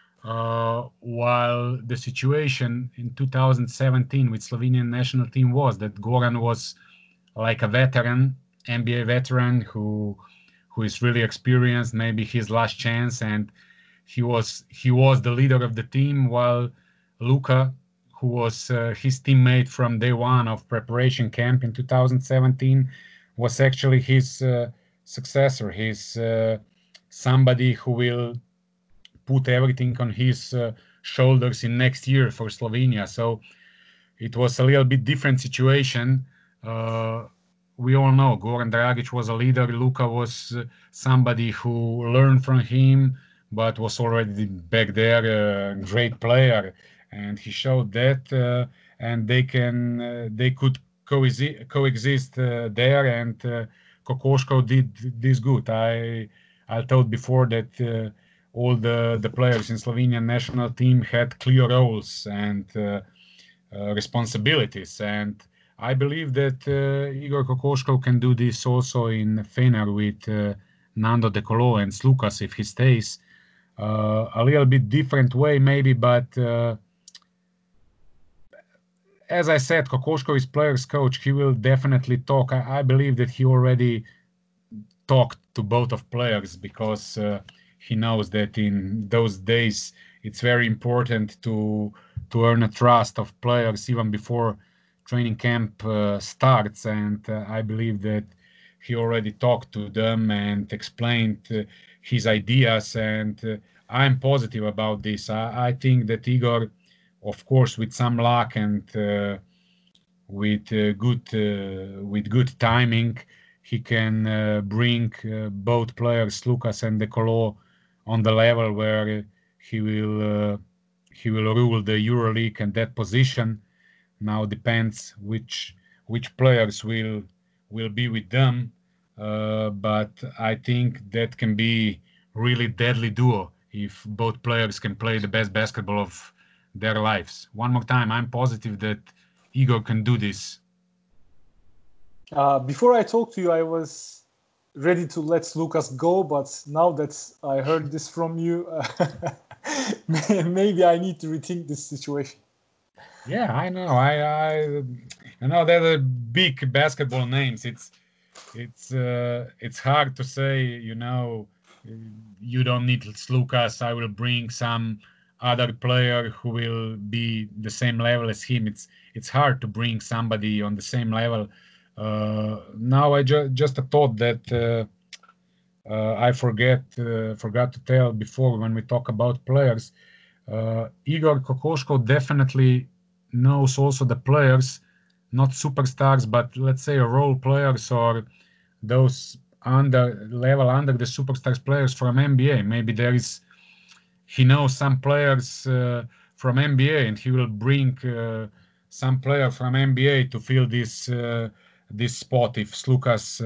While the situation in 2017 with Slovenian national team was that Goran was like a veteran, NBA veteran who is really experienced, maybe his last chance, and he was the leader of the team, while Luka, who was his teammate from day one of preparation camp in 2017, was actually his successor. He's somebody who will put everything on his shoulders in next year for Slovenia. So it was a little bit different situation. We all know Goran Dragic was a leader. Luka was somebody who learned from him, but was already back there a great player. and he showed that, and they could coexist there, and Kokoškov did this good. I told before that all the players in Slovenian national team had clear roles and responsibilities, and I believe that Igor Kokoškov can do this also in Fener with Nando De Colo and Slukas if he stays. A little bit different way maybe, but as I said, Kokoškov is players coach. He will definitely talk. I believe that he already talked to both of players because he knows that in those days it's very important to earn a trust of players even before training camp starts. And I believe that he already talked to them and explained his ideas. And I'm positive about this. I think that Igor, of course, with some luck and with good timing, he can bring both players, Slukas and De Colo, on the level where he will rule the EuroLeague and that position. Now depends which players will be with them, but I think that can be really deadly duo if both players can play the best basketball of their lives. One more time, I'm positive that Igor can do this. Before I talked to you, I was ready to let Slukas go, but now that I heard this from you, maybe I need to rethink this situation. Yeah, I know. I know they're the big basketball names. It's hard to say. You don't need Slukas. I will bring some other player who will be the same level as him. It's hard to bring somebody on the same level. Now I just a thought that I forgot to tell before when we talk about players. Igor Kokoškov definitely knows also the players, not superstars, but let's say role players or those under the superstars players from NBA. Maybe he knows some players from NBA, and he will bring some player from NBA to fill this spot if Slukas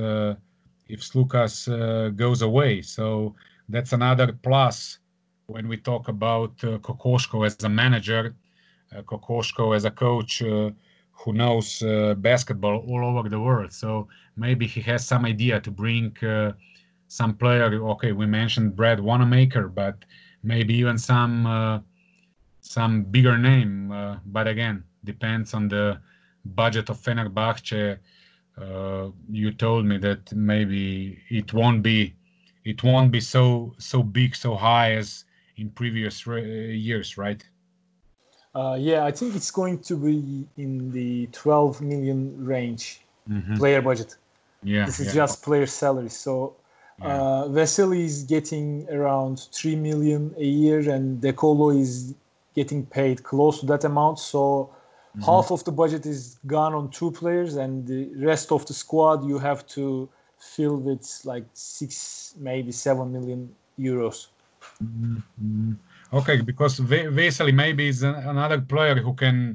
goes away. So that's another plus when we talk about Kokoškov as a manager, Kokoškov as a coach who knows basketball all over the world. So maybe he has some idea to bring some player. Okay, we mentioned Brad Wanamaker, but maybe even some bigger name. But again, depends on the budget of Fenerbahce. You told me that maybe it won't be so big, so high as in previous years, right? Yeah, I think it's going to be in the 12 million range player budget. Yeah, this is just player salary. So Vesely is getting around 3 million a year, and De Colo is getting paid close to that amount. So half of the budget is gone on two players, and the rest of the squad you have to fill with like 6, maybe 7 million euros. Okay, because Vesely maybe is another player who can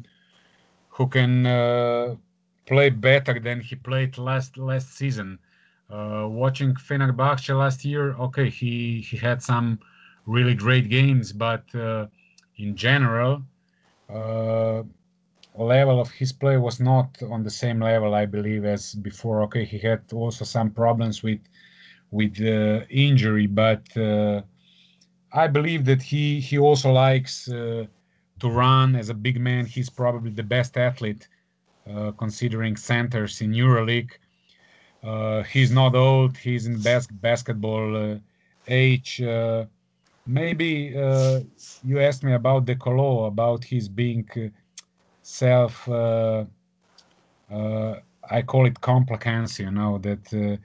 play better than he played last season. Watching Fenerbahce last year, okay, he had some really great games, but in general, level of his play was not on the same level, I believe, as before. Okay, he had also some problems with injury, but I believe that he also likes to run as a big man. He's probably the best athlete considering centers in EuroLeague. He's not old. He's in basketball age. Maybe you asked me about De Colo, about his being self. I call it complacency. That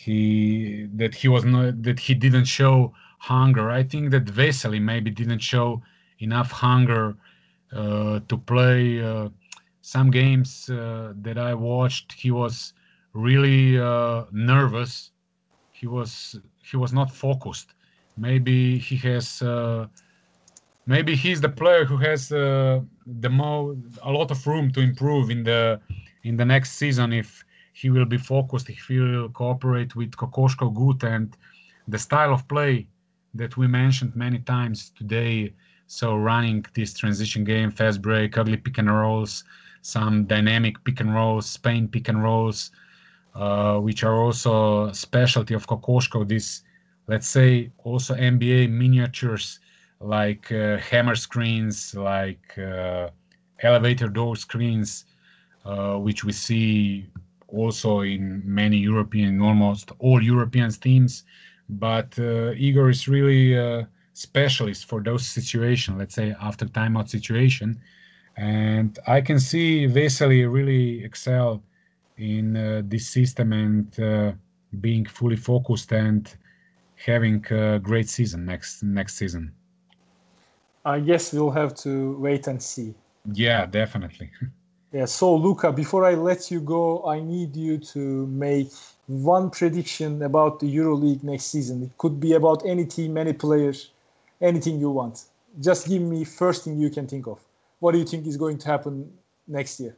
he didn't show hunger. I think that Vesely maybe didn't show enough hunger to play some games that I watched. He was really nervous. He was not focused. Maybe he has maybe he's the player who has a lot of room to improve in the next season if he will be focused, if he will cooperate with Kokoškov good and the style of play that we mentioned many times today. So running this transition game, fast break, ugly pick and rolls, some dynamic pick and rolls, Spain pick and rolls, which are also a specialty of Kokoškov. This, let's say, also NBA miniatures like hammer screens, like elevator door screens, which we see also in many European, almost all European teams. But Igor is really a specialist for those situations, let's say after timeout situation. And I can see Vesely really excel in this system and being fully focused and having a great season next season. I guess we'll have to wait and see. Yeah, definitely. Yeah, so Luka, before I let you go, I need you to make one prediction about the EuroLeague next season. It could be about any team, any players, anything you want. Just give me first thing you can think of. What do you think is going to happen next year?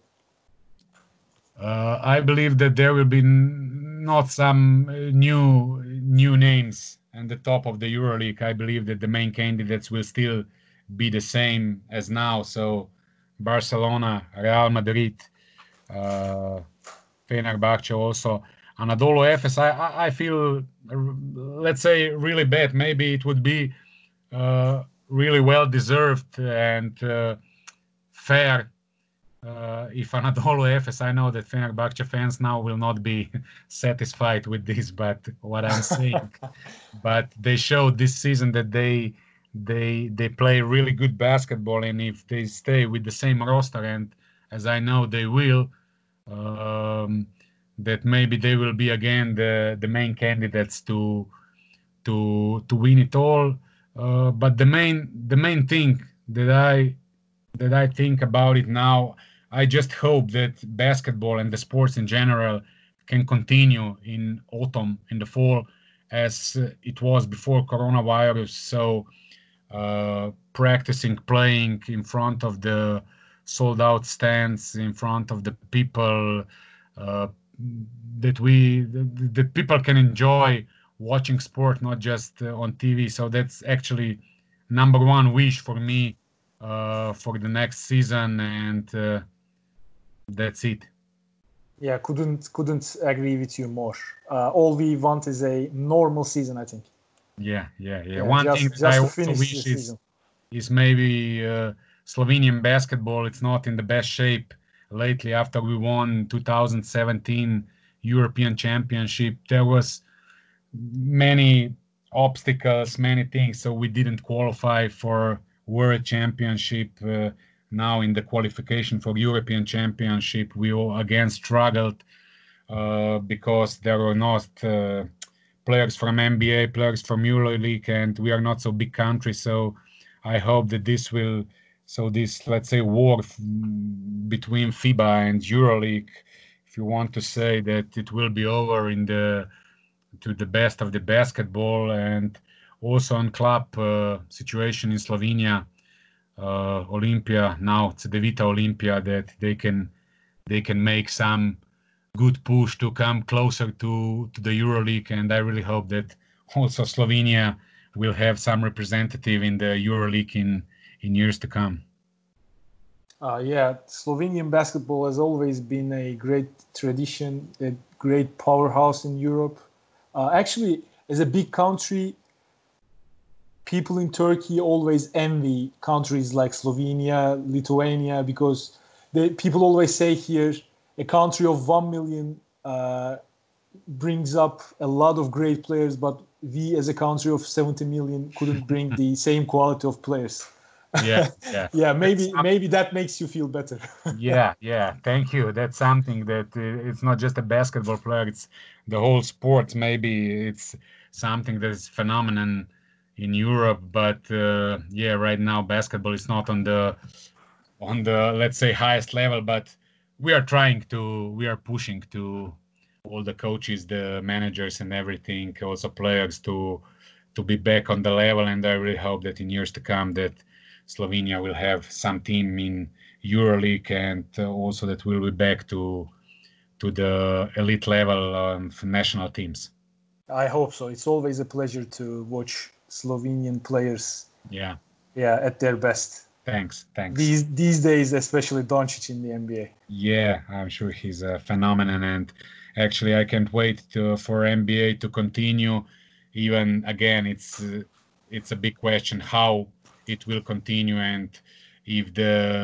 I believe that there will be not some new names at the top of the EuroLeague. I believe that the main candidates will still be the same as now. So Barcelona, Real Madrid, Fenerbahce also. Anadolu Efes, I feel, let's say, really bad. Maybe it would be really well deserved and fair if Anadolu Efes. I know that Fenerbahce fans now will not be satisfied with this, but what I'm saying, but they showed this season that they play really good basketball, and if they stay with the same roster, and as I know they will, that maybe they will be again the main candidates to win it all. But the main thing that I think about it now, I just hope that basketball and the sports in general can continue in autumn, in the fall, as it was before coronavirus. So practicing, playing in front of the sold-out stands, in front of the people, that people can enjoy watching sport, not just on TV. So that's actually number one wish for me for the next season, and that's it. Yeah, couldn't agree with you more. All we want is a normal season, I think. Yeah. One thing that I also wish is maybe Slovenian basketball. It's not in the best shape lately after we won 2017 European Championship. There was many obstacles, many things, so we didn't qualify for World Championship. Now in the qualification for European Championship, we all again struggled because there were not players from NBA, players from EuroLeague, and we are not so big country. So I hope that this, let's say, war between FIBA and EuroLeague, if you want to say, that it will be over to the best of the basketball. And also on club situation in Slovenia, Olympia, now it's Cedevita Olympia, that they can make some good push to come closer to the EuroLeague, and I really hope that also Slovenia will have some representative in the EuroLeague in years to come. Yeah, Slovenian basketball has always been a great tradition, a great powerhouse in Europe. Actually, as a big country, people in Turkey always envy countries like Slovenia, Lithuania, because people always say here, a country of 1 million brings up a lot of great players, but we as a country of 70 million couldn't bring the same quality of players. Yeah. Yeah, maybe that makes you feel better. Yeah. Thank you. That's something that it's not just a basketball player, it's the whole sport. Maybe it's something that is phenomenon in Europe, but right now basketball is not on the let's say highest level, but we are pushing to all the coaches, the managers and everything, also players to be back on the level. And I really hope that in years to come that Slovenia will have some team in EuroLeague, and also that we'll be back to the elite level national teams. I hope so. It's always a pleasure to watch Slovenian players. Yeah, at their best. Thanks. These days, especially Doncic in the NBA. Yeah, I'm sure he's a phenomenon, and actually, I can't wait for NBA to continue. Even again, it's a big question how it will continue, and if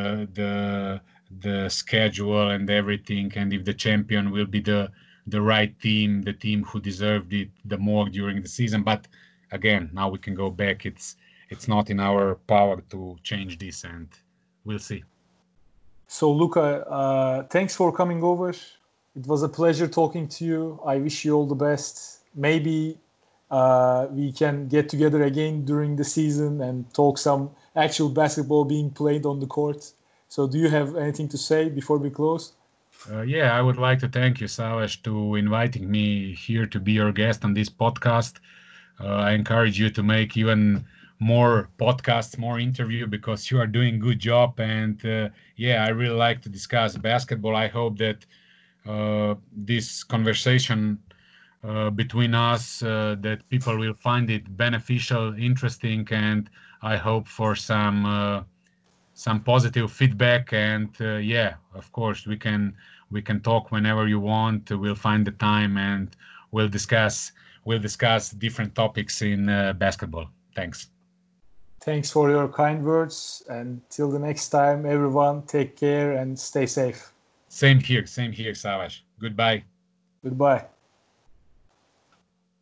the schedule and everything, and if the champion will be the right team, the team who deserved it the more during the season. But again, now we can go back. It's not in our power to change this, and we'll see. So, Luka, thanks for coming over. It was a pleasure talking to you. I wish you all the best. Maybe we can get together again during the season and talk some actual basketball being played on the court. So do you have anything to say before we close? Yeah, I would like to thank you, Savas, to inviting me here to be your guest on this podcast. I encourage you to make even more podcasts, more interview, because you are doing a good job. And yeah, I really like to discuss basketball. I hope that this conversation between us, that people will find it beneficial, interesting, and I hope for some positive feedback. And yeah, of course, we can talk whenever you want. We'll find the time and we'll discuss different topics in basketball. Thanks. Thanks for your kind words, and till the next time, everyone, take care and stay safe. Same here, Savas. Goodbye. Goodbye.